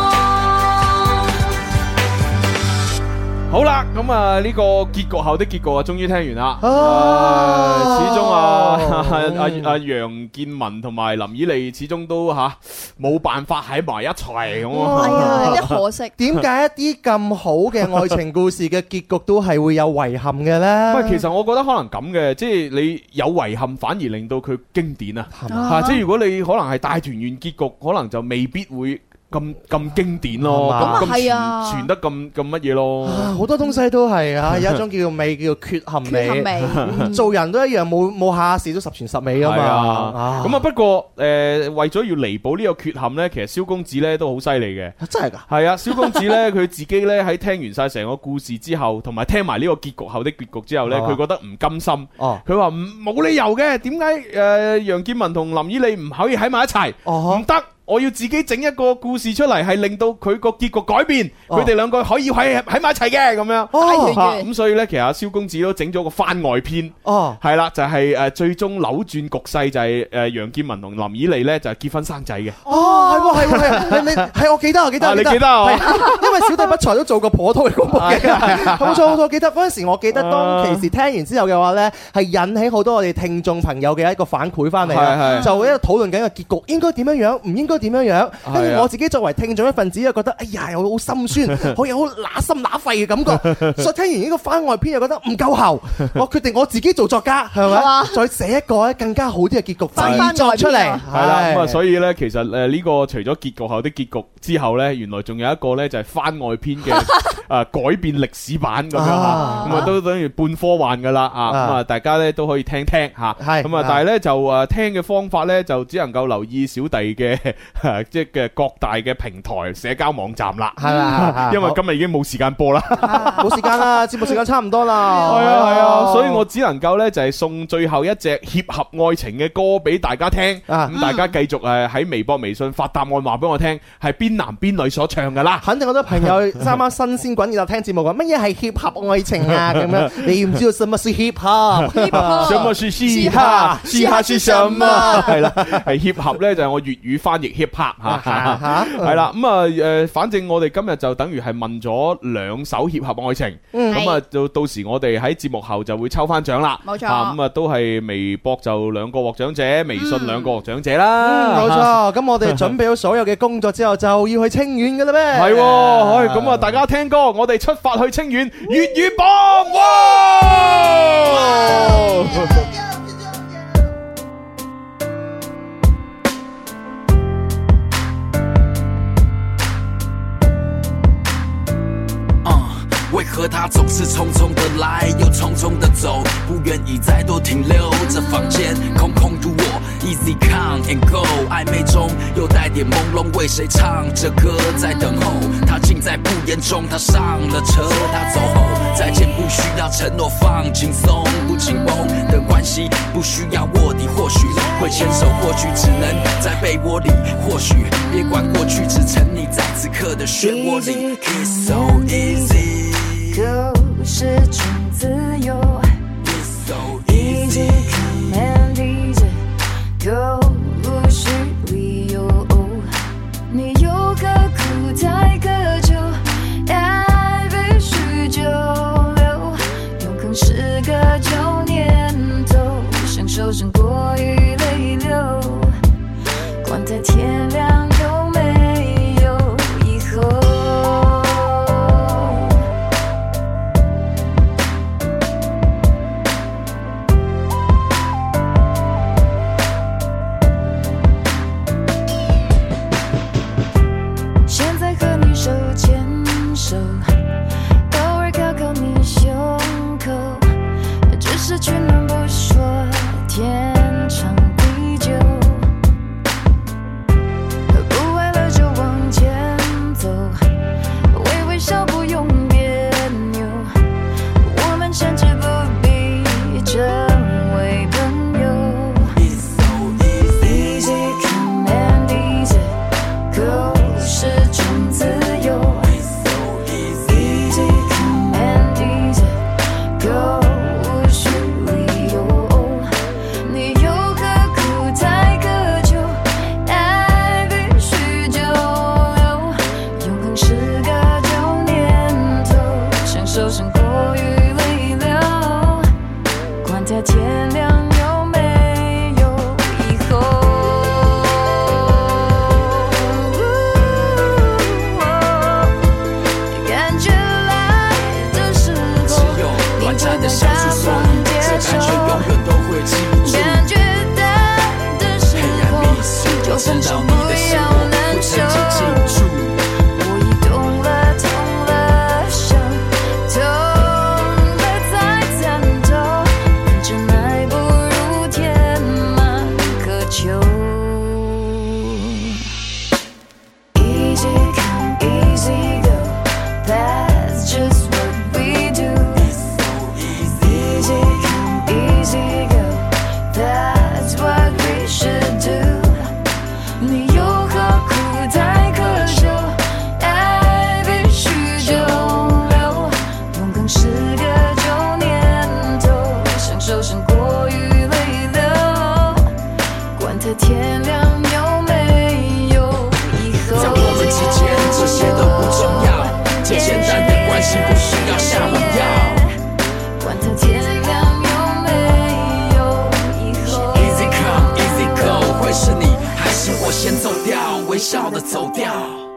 好啦，咁啊呢個結局後的結局啊，終於聽完啦。 哦啊始終啊阿阿楊建文同埋林以莉始終都吓冇辦法喺埋一齊咁啊。 係啊，有啲可惜。 點解一啲咁好嘅愛情故事嘅結局都係會有遺憾嘅呢？ 喂，其實我覺得可能咁嘅，即係你有遺憾，反而令到佢經典啊。嚇，即係如果你可能係大團圓結局，可能就未必會咁咁經典咯，咁咁傳傳得咁咁乜嘢咯？ 好多東西都係啊，有一種叫做美，叫做缺陷美。 缺陷美做人都一樣，冇冇下下事都十全十美噶嘛。 啊，咁啊不過誒，為咗要彌補呢個缺陷咧，其實蕭公子咧都好犀利嘅。 真係㗎？ 係啊，蕭公子咧佢自己咧喺聽完晒成個故事之後，同埋聽埋呢個結局後的結局之後咧，佢覺得唔甘心。哦，佢話唔冇理由嘅，點解誒楊建文同林以莉唔可以喺埋一齊？唔得。我要自己整一個故事出嚟，係令到佢個結局改變，佢哋兩個可以喺喺埋一齊嘅咁樣。哦，咁所以呢，其實阿蕭公子都整咗個番外篇。哦，係啦，就係誒最終扭轉局勢，就係誒楊建文同林以莉呢，就係結婚生仔嘅。 哦，係喎係喎係，你係我記得我記得。 你記得啊？ 因為小弟不才都做過頗多嘅廣播嘅。冇錯冇錯，記得嗰陣時，我記得當其時聽完之後嘅話呢，係引起好多我哋聽眾朋友嘅一個反饋翻嚟啦。就喺度討論緊個結局應該點樣樣，唔應該點樣樣，跟住我自己作為聽眾一份子，又覺得哎呀，又好心酸，好有好乸心乸肺嘅感覺。所以聽完呢個番外篇又覺得唔夠喉，我決定我自己做作家，係咪？再寫一個咧更加好啲嘅結局製作出嚟。係啦，咁啊，所以咧，其實誒呢個除咗結局後的結局之後咧，原來仲有一個咧就係番外篇嘅誒改變歷史版咁樣嚇，咁啊都等於半科幻噶啦啊，咁啊大家咧都可以聽聽嚇，咁啊但係咧就誒聽嘅方法咧就只能夠留意小弟嘅。即係嘅各大嘅平台社交網站啦，係啦，因為今日已經冇時間播啦， 冇時間啦，節目時間差唔多啦， 係啊係啊，所以我只能夠咧就係送最後一隻協合愛情嘅歌俾大家聽，咁大家繼續誒喺微博、微信發答案話俾我聽，係邊男邊女所唱噶啦， 肯定好多朋友啱啱新鮮滾熱辣聽節目，話乜嘢係協合愛情啊咁樣，你唔知道什麼是協合， 什麼是嘻哈，嘻哈是什麼？係啦，係協合咧就係我粵語翻譯 hip hop 吓，係啦，咁啊誒，反正我哋今日就等於係問咗兩首協合愛情，咁啊到到時我哋喺節目後就會抽翻獎啦，冇錯，咁啊都係微博就兩個獲獎者，微信兩個獲獎者啦， 冇錯，咁我哋準備好所有嘅工作之後，就要去清遠噶啦咩？ 係，咁啊大家聽歌，我哋出發去清遠粵語榜，哇！ 和他总是匆匆的来，又匆匆的走，不愿意再多停留。这房间空空如我 ，Easy come and go， 暧昧中又带点朦胧，为谁唱着歌在等候？他尽在不言中，他上了车，他走后再见不需要承诺，放轻松不紧绷的关系，不需要卧底，或许会牵手，或许只能在被窝里，或许别管过去，只沉溺在此刻的漩涡里。It's so easy， 故事中自由。 It's so easy come and easy go， 无需理由。你有个苦太渴求，爱必须久留，永恒是个旧念头，享受胜过于泪流，管它天亮有没有以后。却能不说天长地久，不为了就往前走，微微笑不用别扭，我们甚至不必成为朋友。 It's so easy, easy come and easy go， 是种自由。 It's so easy, easy come and easy go，天亮有没有以后？感觉来的时候， 只有短暂的相处，所以这感觉永远都会记住。 感觉淡的时候，就分手不要难受。我已懂了，痛了，伤痛。天亮有没有以后？ 在我们之间，这些都不重要，最简单的关系不需要下猛药。 管他天亮有没有以后 ？Easy come, easy go， 会是你还是我先走掉，微笑的走掉。